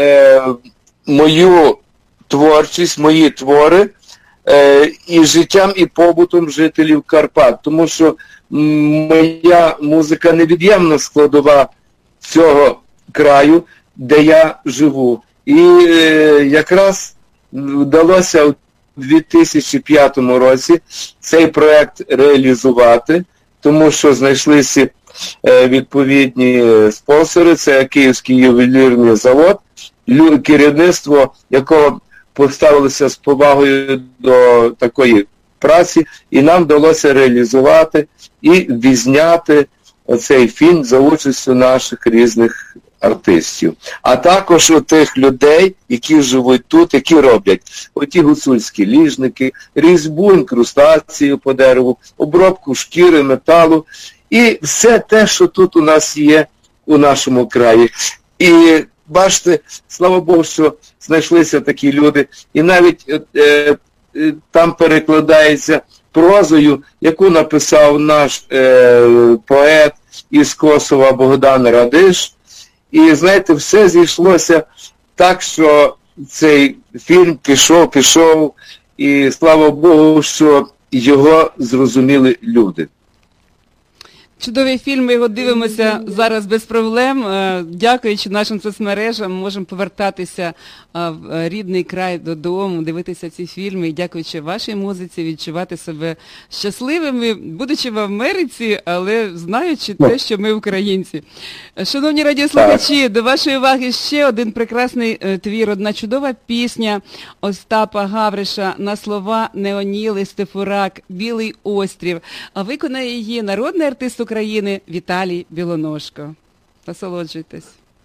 мою творчість, мої твори і життям, і побутом жителів Карпат. Тому що моя музика невід'ємна складова цього краю, де я живу. І якраз вдалося у 2005 році цей проект реалізувати, тому що знайшлися відповідні спонсори, це Київський ювелірний завод, керівництво якого поставилося з повагою до такої праці, і нам вдалося реалізувати і відзняти цей фільм за участю наших різних артистів. А також у тих людей, які живуть тут, які роблять оті гуцульські ліжники, різьбу, інкрустацію по дереву, обробку шкіри, металу, і все те, що тут у нас є у нашому краї. І бачите, слава Богу, що знайшлися такі люди. І навіть там перекладається прозою, яку написав наш поет із Косова Богдан Радиш. І, знаєте, все зійшлося так, що цей фільм пішов, і слава Богу, що його зрозуміли люди. Чудовий фільм, ми його дивимося зараз без проблем. Дякуючи нашим соцмережам, ми можемо повертатися в рідний край додому, дивитися ці фільми і дякуючи вашій музиці відчувати себе щасливими, будучи в Америці, але знаючи те, що ми українці. Шановні радіослухачі, до вашої уваги ще один прекрасний твір, одна чудова пісня Остапа Гавриша на слова Неоніли Стефурак «Білий острів», а виконає її народний артист України Віталій Білоножко. Насолоджуйтесь.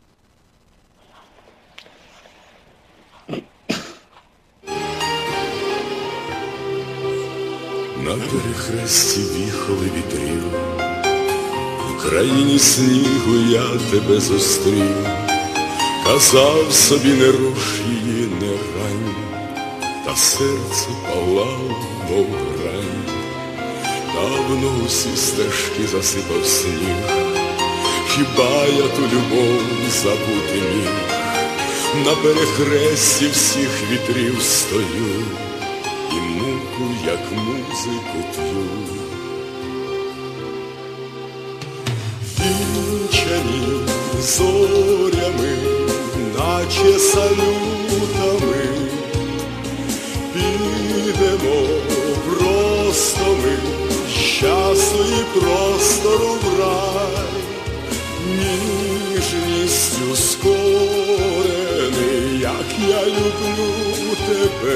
На перехресті віхоли вітрів, в країні снігу я тебе зустрів, казав собі не руш її, не рань, та серце палало, мов грань. Давно усі стежки засипав сніг, хіба я ту любов забути міг? На перехресті всіх вітрів стою, і муку, як музику п'ю. Вінчані зорями, наче салютами, підемо просто ми, з часу і простору в рай, ніжністю скорений, як я люблю тебе.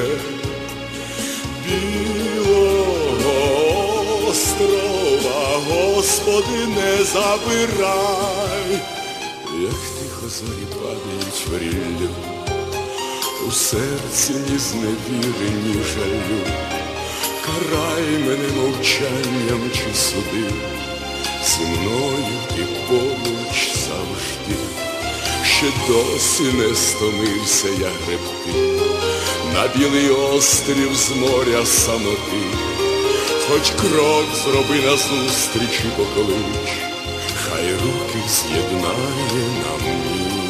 Білого острова, Господи, не забирай. Як тихо зорі падають в ріллю, у серці ні зневіри, ні жалю. Карай мене мовчанням чи суди, зі мною ти поруч завжди. Ще досі не стомився я гребти на білий острів з моря самоти. Хоч крок зроби назустріч і поклич, хай руки з'єднає нам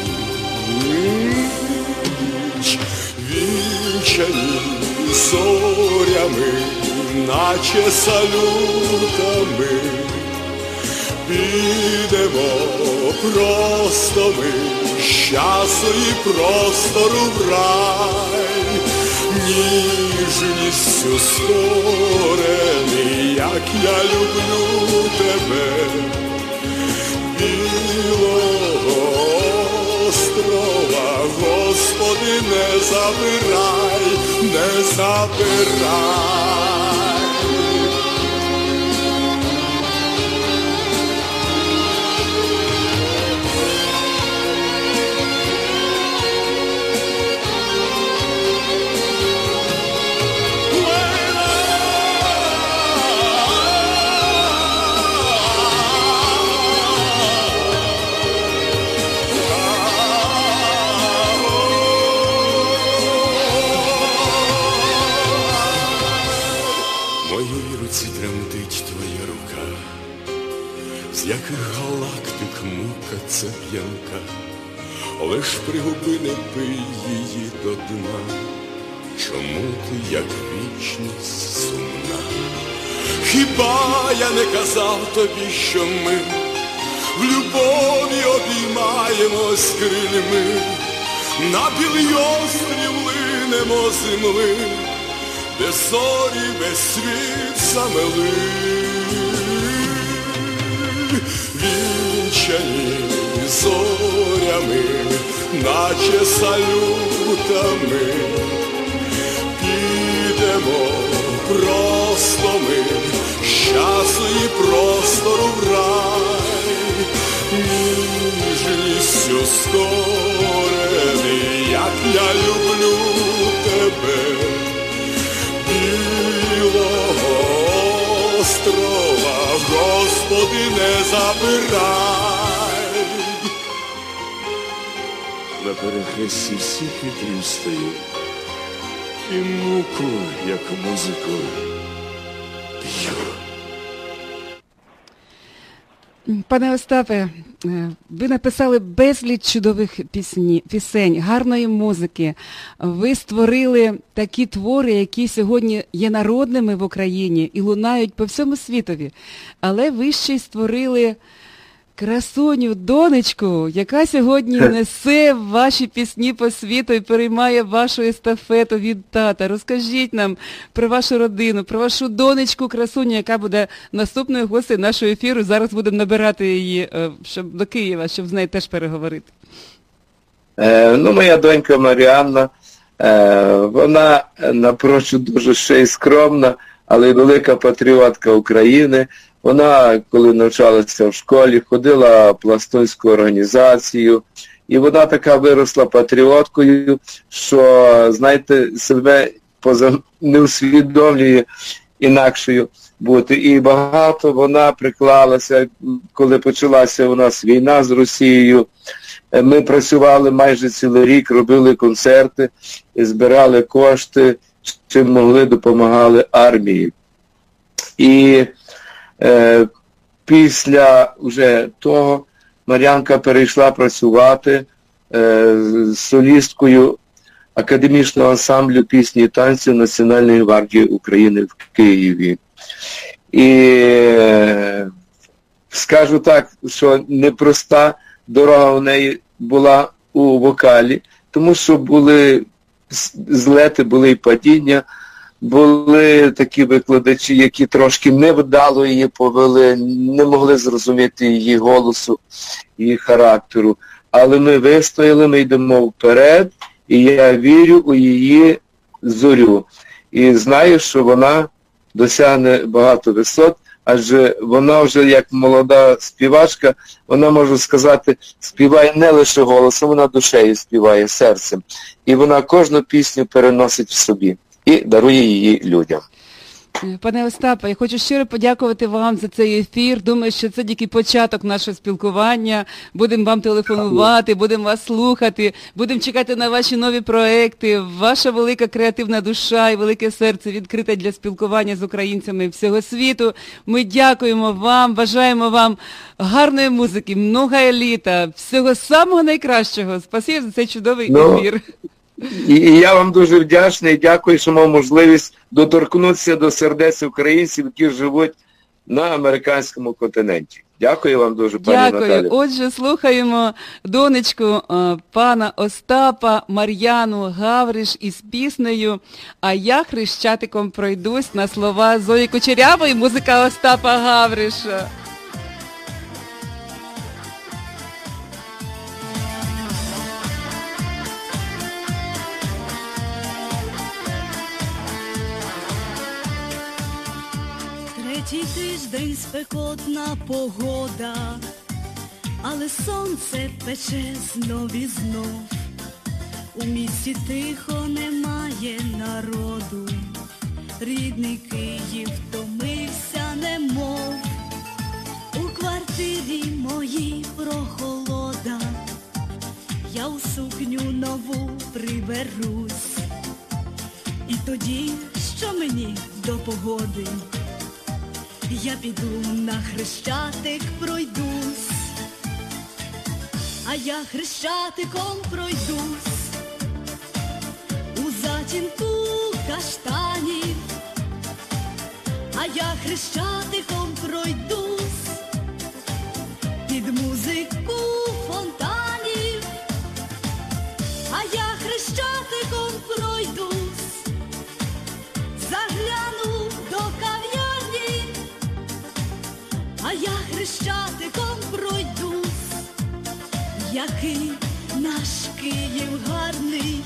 ніч. Вінчані зорями, наче салютами, підемо просто ми з часу і простору в рай, ніжністю створений, як я люблю тебе, білого острова, Господи, не забирай, не забирай. З яких галактик мука ця п'янка, лиш пригуби не пий її до дна. Чому ти, як вічність, сумна? Хіба я не казав тобі, що ми в любові обіймаємось крильми, на білий острів линемо земли, де зорі весь світ замели. Вінчані зорями, наче салютами, підемо просто ми з часу і простору в рай, ніжністю скорений, як я люблю тебе, білого острова, Господи, не забирай. На перехресті всіх вітрів стою, і муку, як музику, п'ю. Пане Остапе, ви написали безліч чудових пісень, гарної музики. Ви створили такі твори, які сьогодні є народними в Україні і лунають по всьому світові. Але ви ще й створили красуню, донечку, яка сьогодні несе ваші пісні по світу і переймає вашу естафету від тата. Розкажіть нам про вашу родину, про вашу донечку красуню, яка буде наступною гостею нашого ефіру. Зараз будемо набирати її до Києва, щоб з нею теж переговорити. Моя донька Маріанна, вона напрочуд дуже ще й скромна, але й велика патріотка України. Вона, коли навчалася в школі, ходила в пластунську організацію, і вона така виросла патріоткою, що, знаєте, себе не усвідомлює інакшою бути. І багато вона приклалася, коли почалася у нас війна з Росією. Ми працювали майже цілий рік, робили концерти, збирали кошти, чим могли, допомагали армії. І після вже того Мар'янка перейшла працювати солісткою академічного ансамблю пісні і танців Національної гвардії України в Києві. І скажу так, що непроста дорога у неї була у вокалі, тому що були злети, були і падіння. Були такі викладачі, які трошки невдало її повели, не могли зрозуміти її голосу, її характеру. Але ми вистояли, ми йдемо вперед, і я вірю у її зорю. І знаю, що вона досягне багато висот, адже вона вже як молода співачка, вона, можу сказати, співає не лише голосом, вона душею співає, серцем. І вона кожну пісню переносить в собі і дарує її людям. Пане Остапе, я хочу щиро подякувати вам за цей ефір. Думаю, що це тільки початок нашого спілкування. Будемо вам телефонувати, будемо вас слухати, будемо чекати на ваші нові проекти. Ваша велика креативна душа і велике серце відкрите для спілкування з українцями всього світу. Ми дякуємо вам, бажаємо вам гарної музики, много літа, всього самого найкращого. Спасибі за цей чудовий ефір. І я вам дуже вдячний, дякую, що мав можливість доторкнутися до сердець українців, які живуть на американському континенті. Дякую вам дуже, пані Дякую. Наталі. Отже, слухаємо донечку пана Остапа Мар'яну Гавриш із піснею «А я хрещатиком пройдусь» на слова Зої Кучерявої, музика Остапа Гавриша. Третій тиждень спекотна погода, але сонце пече знов і знов. У місті тихо, немає народу, рідний Київ втомився немов. У квартирі моїй прохолода, я у сукню нову приберусь. І тоді, що мені до погоди, я піду на Хрещатик пройдусь, а я Хрещатиком пройдусь, у затінку каштанів, а я Хрещатиком пройдусь, під музику фонтанів, а я Хрещатиком пройдусь, загляну до кав'ярні, а я Хрещатиком пройдусь, який наш Київ гарний.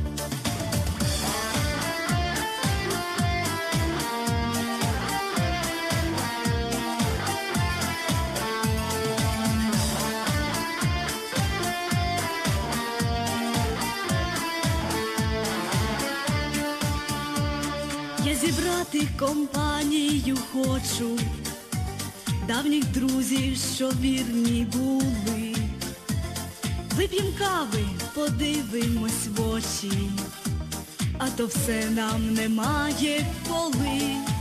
Я зібрати компанію хочу, давніх друзів, що вірні були. Вип'єм кави, подивимось в очі, а то все нам немає коли.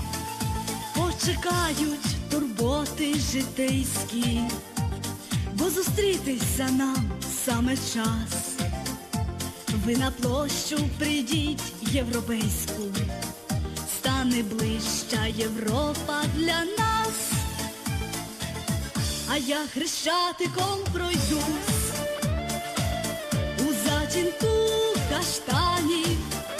Почекають турботи житейські, бо зустрітися нам саме час. Ви на площу прийдіть європейську, стане ближча Європа для нас. А я Хрещатиком пройдусь, у затінку каштанів,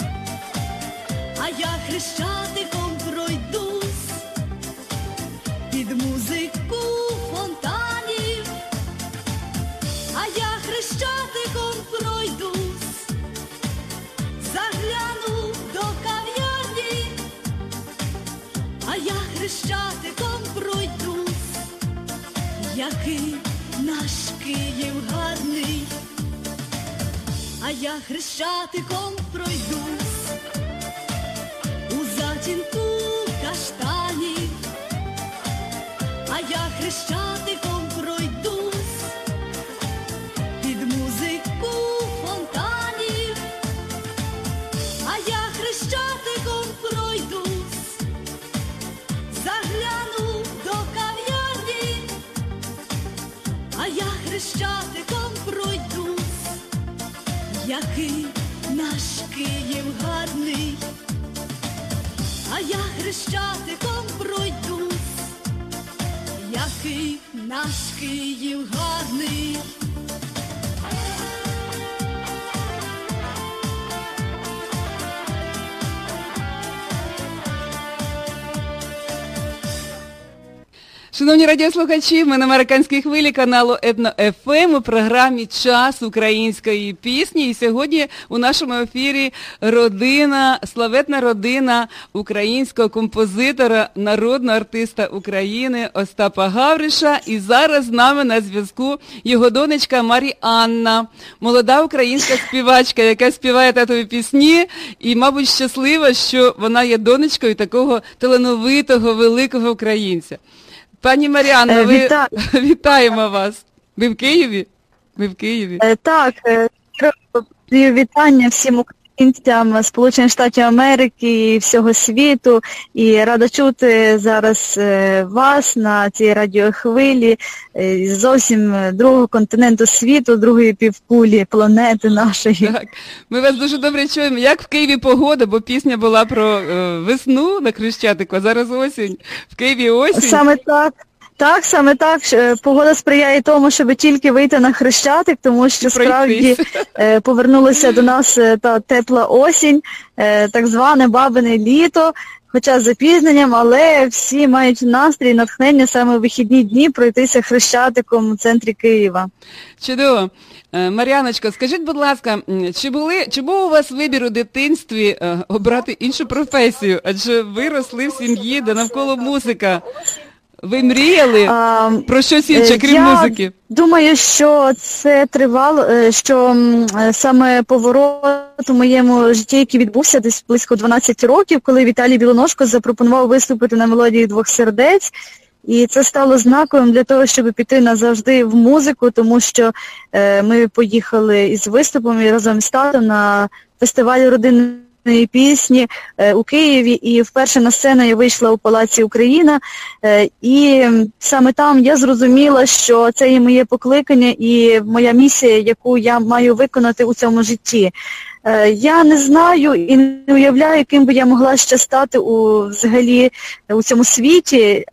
а я Хрещатиком пройдусь, під музику фонтанів, а я Хрещатиком пройдусь, загляну до кав'ярні, а я Хрещатиком пройдусь, який наш Київ гарний, а я Хрещатиком пройдусь, у затінку каштанів, а я Хрещатиком пройдусь, під музику фонтанів, а я Хрещатиком пройдусь, загляну до кав'ярні, а я Хрещатиком пройдусь, який наш Київ гарний, а я Хрещатиком пройдусь, який наш Київ гарний. Шановні радіослухачі, ми на американській хвилі каналу Етно-ФМ у програмі «Час української пісні». І сьогодні у нашому ефірі родина, славетна родина українського композитора, народного артиста України Остапа Гавриша. І зараз з нами на зв'язку його донечка Мар'яна, молода українська співачка, яка співає татові пісні. І, мабуть, щаслива, що вона є донечкою такого талановитого, великого українця. Пані Мар'яно, вітаємо вас. Ви в Києві? Ви в Києві? Так, вітання всім українцям Сполучених Штатів Америки і всього світу. І рада чути зараз вас на цій радіохвилі з зовсім другого континенту світу, другої півкулі планети нашої. Так, ми вас дуже добре чуємо. Як в Києві погода, бо пісня була про весну на Хрещатику, а зараз осінь. В Києві осінь. Саме так. Так, саме так. Погода сприяє тому, щоб тільки вийти на Хрещатик, тому що справді повернулася до нас та тепла осінь, так зване бабине літо, хоча з запізненням, але всі мають настрій і натхнення саме у вихідні дні пройтися Хрещатиком у центрі Києва. Чудово. Мар'яночко, скажіть, будь ласка, чи був у вас вибір у дитинстві обрати іншу професію? Адже ви росли в сім'ї, де навколо музика. Ви мріяли про щось інше, крім музики? Думаю, що це тривало, що саме поворот у моєму житті, який відбувся десь близько 12 років, коли Віталій Білоножко запропонував виступити на мелодії «Двох сердець». І це стало знаковим для того, щоб піти назавжди в музику, тому що ми поїхали із виступом і разом з татом на фестиваль родинної пісні у Києві. І вперше на сцену я вийшла у Палаці Україна. І саме там я зрозуміла, що це є моє покликання і моя місія, яку я маю виконати у цьому житті. Я не знаю і не уявляю, яким би я могла ще стати взагалі у цьому світі.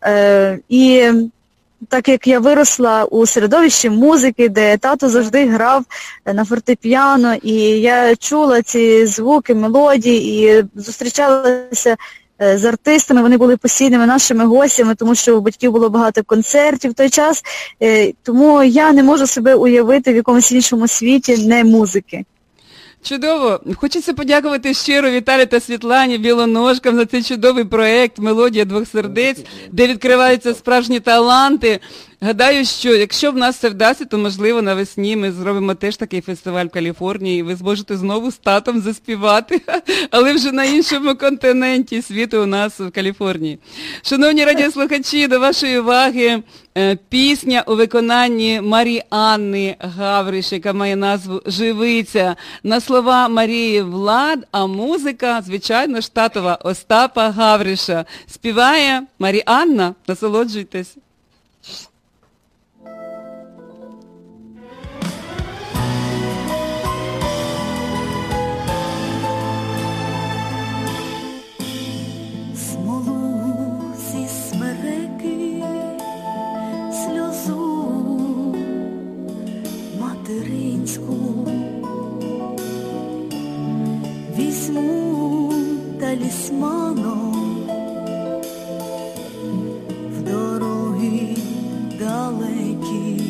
І так як я виросла у середовищі музики, де тато завжди грав на фортепіано, і я чула ці звуки, мелодії і зустрічалася з артистами, вони були постійними нашими гостями, тому що у батьків було багато концертів в той час, тому я не можу себе уявити в якомусь іншому світі не музики. Чудово. Хочеться подякувати щиро Віталію та Світлані Білоножкам за цей чудовий проєкт «Мелодія двох сердець», де відкриваються справжні таланти. Гадаю, що якщо в нас все вдасться, то, можливо, навесні ми зробимо теж такий фестиваль в Каліфорнії, і ви зможете знову з татом заспівати, але вже на іншому континенті світу у нас в Каліфорнії. Шановні радіослухачі, до вашої уваги пісня у виконанні Мар'яни Гавриш, яка має назву «Живиця». На слова Марії Влад, а музика, звичайно, штатова Остапа Гавриша. Співає Мар'яна. Насолоджуйтесь. Візьму талісманом в дороги далекі.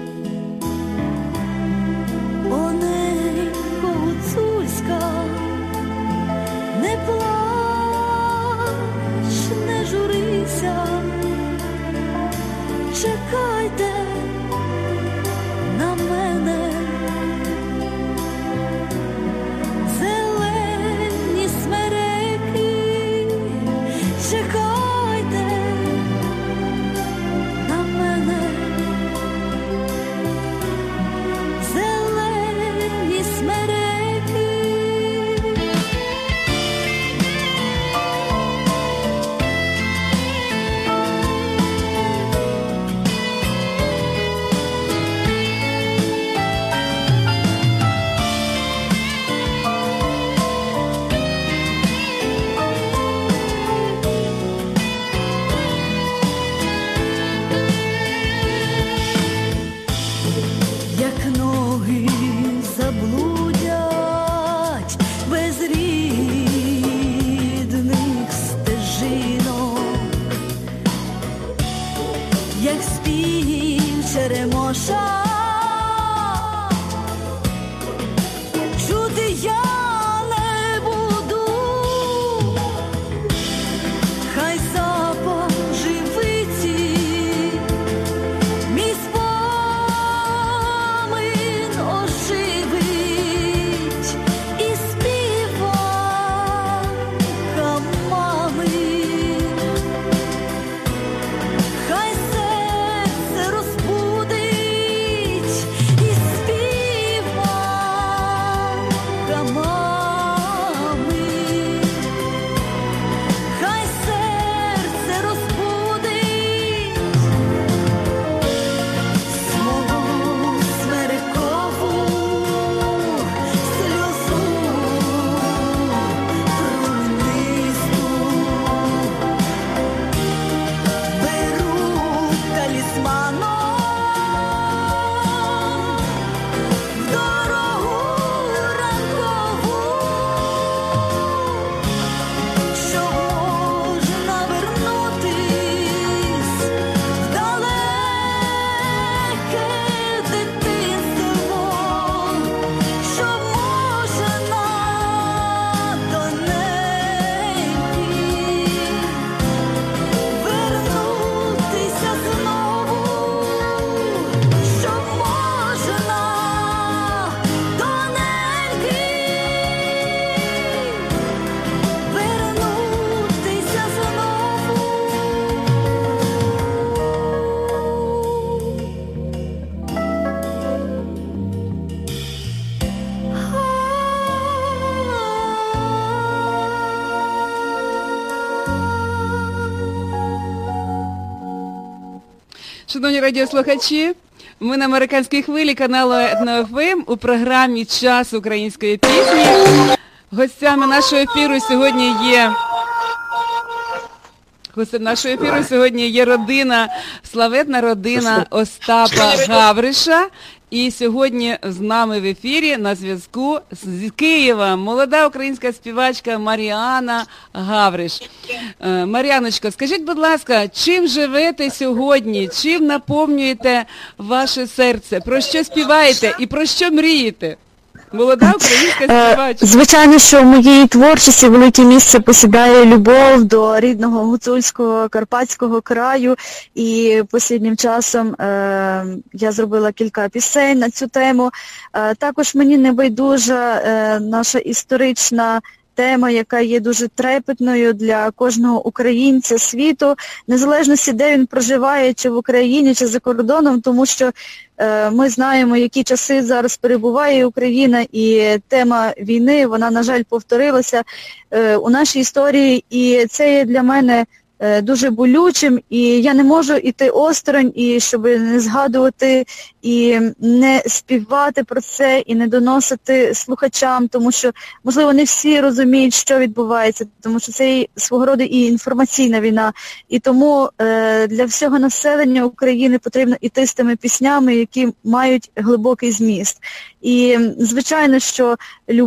Оненько гуцульська, не плач, не журися, чекайте на мене. Зелені смереки Шановні радіослухачі, ми на американській хвилі каналу Етно-ФМ у програмі «Час української пісні». Гостями нашого ефіру сьогодні є родина, славетна родина Остапа Гавриша. І сьогодні з нами в ефірі на зв'язку з Києва молода українська співачка Маріанна Гавриш. Мар'яночко, скажіть, будь ласка, чим живете сьогодні? Чим наповнюєте ваше серце? Про що співаєте і про що мрієте? Молода українська співачка. Звичайно, що в моїй творчості велике місце посідає любов до рідного гуцульського карпатського краю. І останнім часом я зробила кілька пісень на цю тему. Також мені не байдужа наша історична тема, яка є дуже трепетною для кожного українця світу, незалежності, де він проживає, чи в Україні, чи за кордоном, тому що ми знаємо, які часи зараз перебуває Україна, і тема війни, вона, на жаль, повторилася у нашій історії, і це є для мене дуже болючим, і я не можу йти осторонь, і щоб не згадувати, і не співати про це, і не доносити слухачам, тому що, можливо, не всі розуміють, що відбувається, тому що це свого роду і інформаційна війна. І тому для всього населення України потрібно йти з тими піснями, які мають глибокий зміст. І, звичайно, що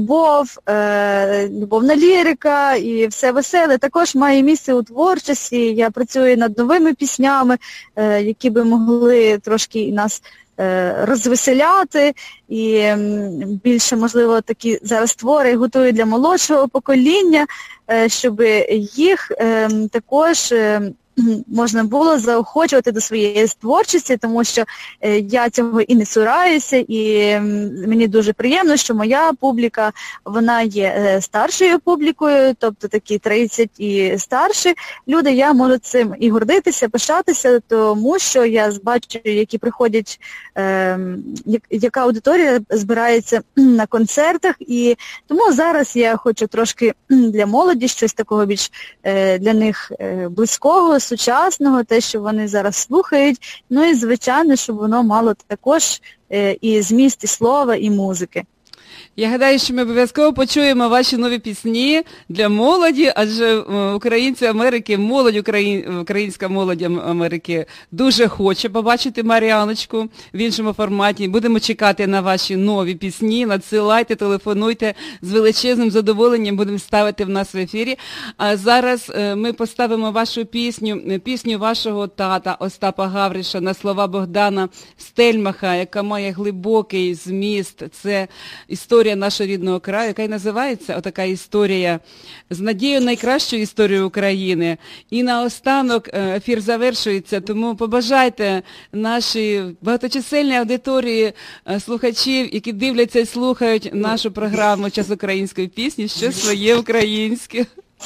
любовна лірика і все веселе також має місце у творчості. Я працюю над новими піснями, які би могли трошки і нас розвеселяти, і більше, можливо, такі зараз твори готую для молодшого покоління, щоб їх також можна було заохочувати до своєї творчості, тому що я цього і не цураюся, і мені дуже приємно, що моя публіка, вона є старшою публікою, тобто такі 30 і старші люди, я можу цим і гордитися, пишатися, тому що я бачу, які приходять, яка аудиторія збирається на концертах, і тому зараз я хочу трошки для молоді щось такого більш для них близького, сучасного, те, що вони зараз слухають, ну і, звичайно, щоб воно мало також і зміст, і слова, і музики. Я гадаю, що ми обов'язково почуємо ваші нові пісні для молоді, адже українці Америки, українська молодь Америки дуже хоче побачити Мар'яночку в іншому форматі. Будемо чекати на ваші нові пісні, надсилайте, телефонуйте, з величезним задоволенням будемо ставити в нас в ефірі. А зараз ми поставимо вашу пісню вашого тата Остапа Гавриша на слова Богдана Стельмаха, яка має глибокий зміст. Це історія нашого рідного краю, яка й називається отака історія з надією найкращої історії України. І наостанок ефір завершується, тому побажайте нашій багаточисельній аудиторії слухачів, які дивляться і слухають нашу програму «Час української пісні», щось своє українське.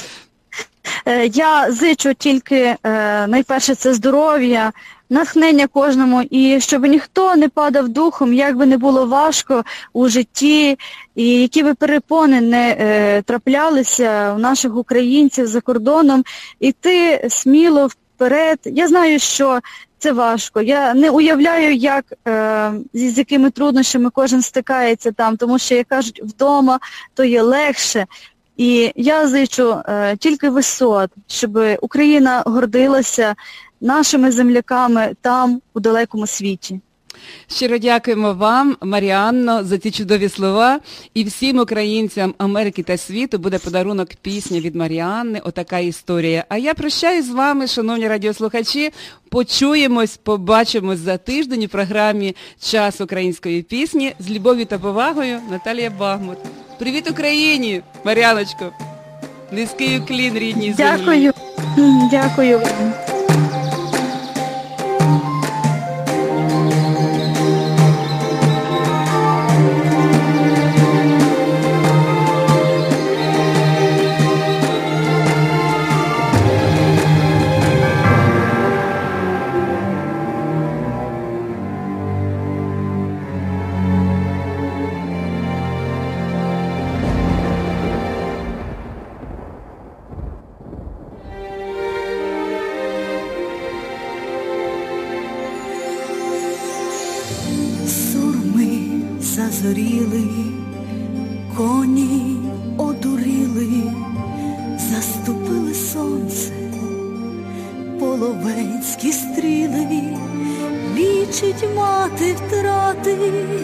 Я зичу тільки, найперше, це здоров'я, натхнення кожному, і щоб ніхто не падав духом, як би не було важко у житті, і які би перепони не траплялися у наших українців за кордоном, іти сміло вперед. Я знаю, що це важко. Я не уявляю, з якими труднощами кожен стикається там, тому що, як кажуть, вдома то є легше. І я зичу тільки висот, щоб Україна гордилася нашими земляками там, у далекому світі. Щиро дякуємо вам, Маріанно, за ці чудові слова. І всім українцям Америки та світу буде подарунок пісня від Маріанни «Отака історія». А я прощаюсь з вами, шановні радіослухачі. Почуємось, побачимось за тиждень у програмі «Час української пісні». З любов'ю та повагою, Наталія Багмут. Привіт Україні, Мар'яночко. Низький уклін рідній землі. Дякую. Дякую. сурми зазоріли, коні одуріли, заступили сонце, половецькі стріли, лічить мати втрати,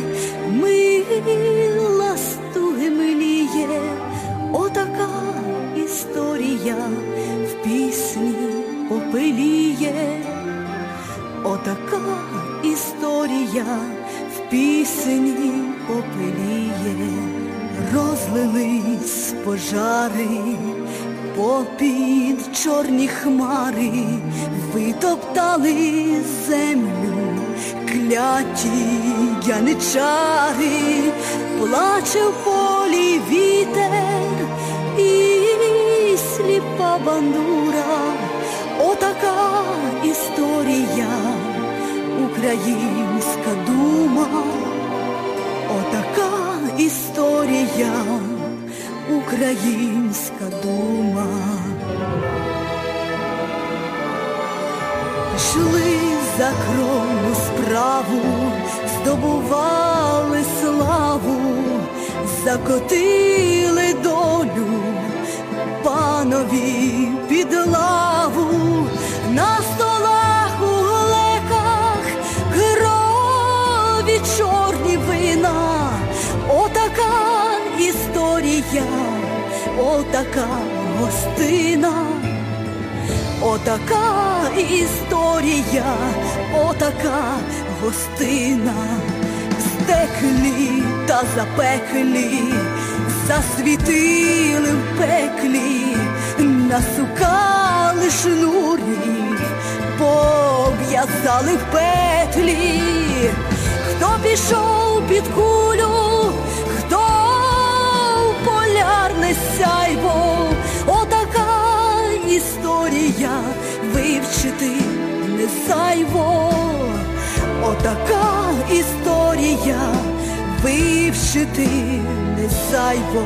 мила стуги миліє, отака історія в пісні попеліє, отака історія в пісні попеліє. Розлились пожари попід чорні хмари, витоптали землю кляті яничари, плаче в полі вітер і сліпа бандура, отака історія, українська дума, отака історія, українська дума. Йшли за кровну справу, здобували славу, закотили долю панові під лаву, на столах у глеках крові чорні вина, отака історія, отака гостина, отака історія, отака гостина. Здеклі та запеклі, засвітили в пеклі, насукали шнурів, пов'язали в петлі. Хто пішов під кулю, хто в полярне сяйво, отака історія, вивчити не зайво, отака історія, вивчити не зайво.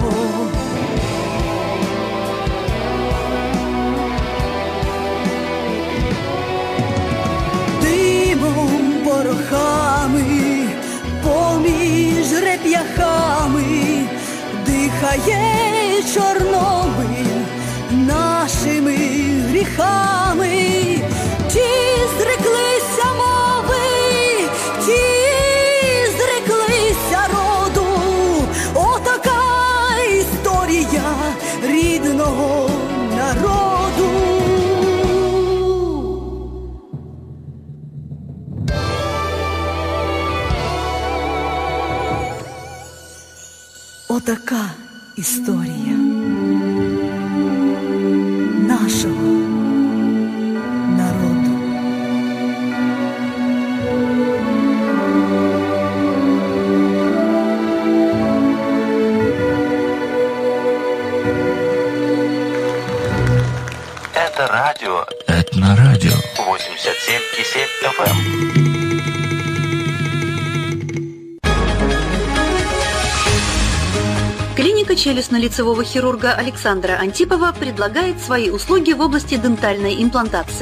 Димом, порохами, поміж реп'яхами дихає Чорнобиль нашими гріхами. Ті зреклися мови, ті зреклися роду, отака історія рідного народу. Отака історія нашого народу. Это радио. Этнорадио. 87,7 FM. Клиника челюстно-лицевого хирурга Александра Антипова предлагает свои услуги в области дентальной имплантации.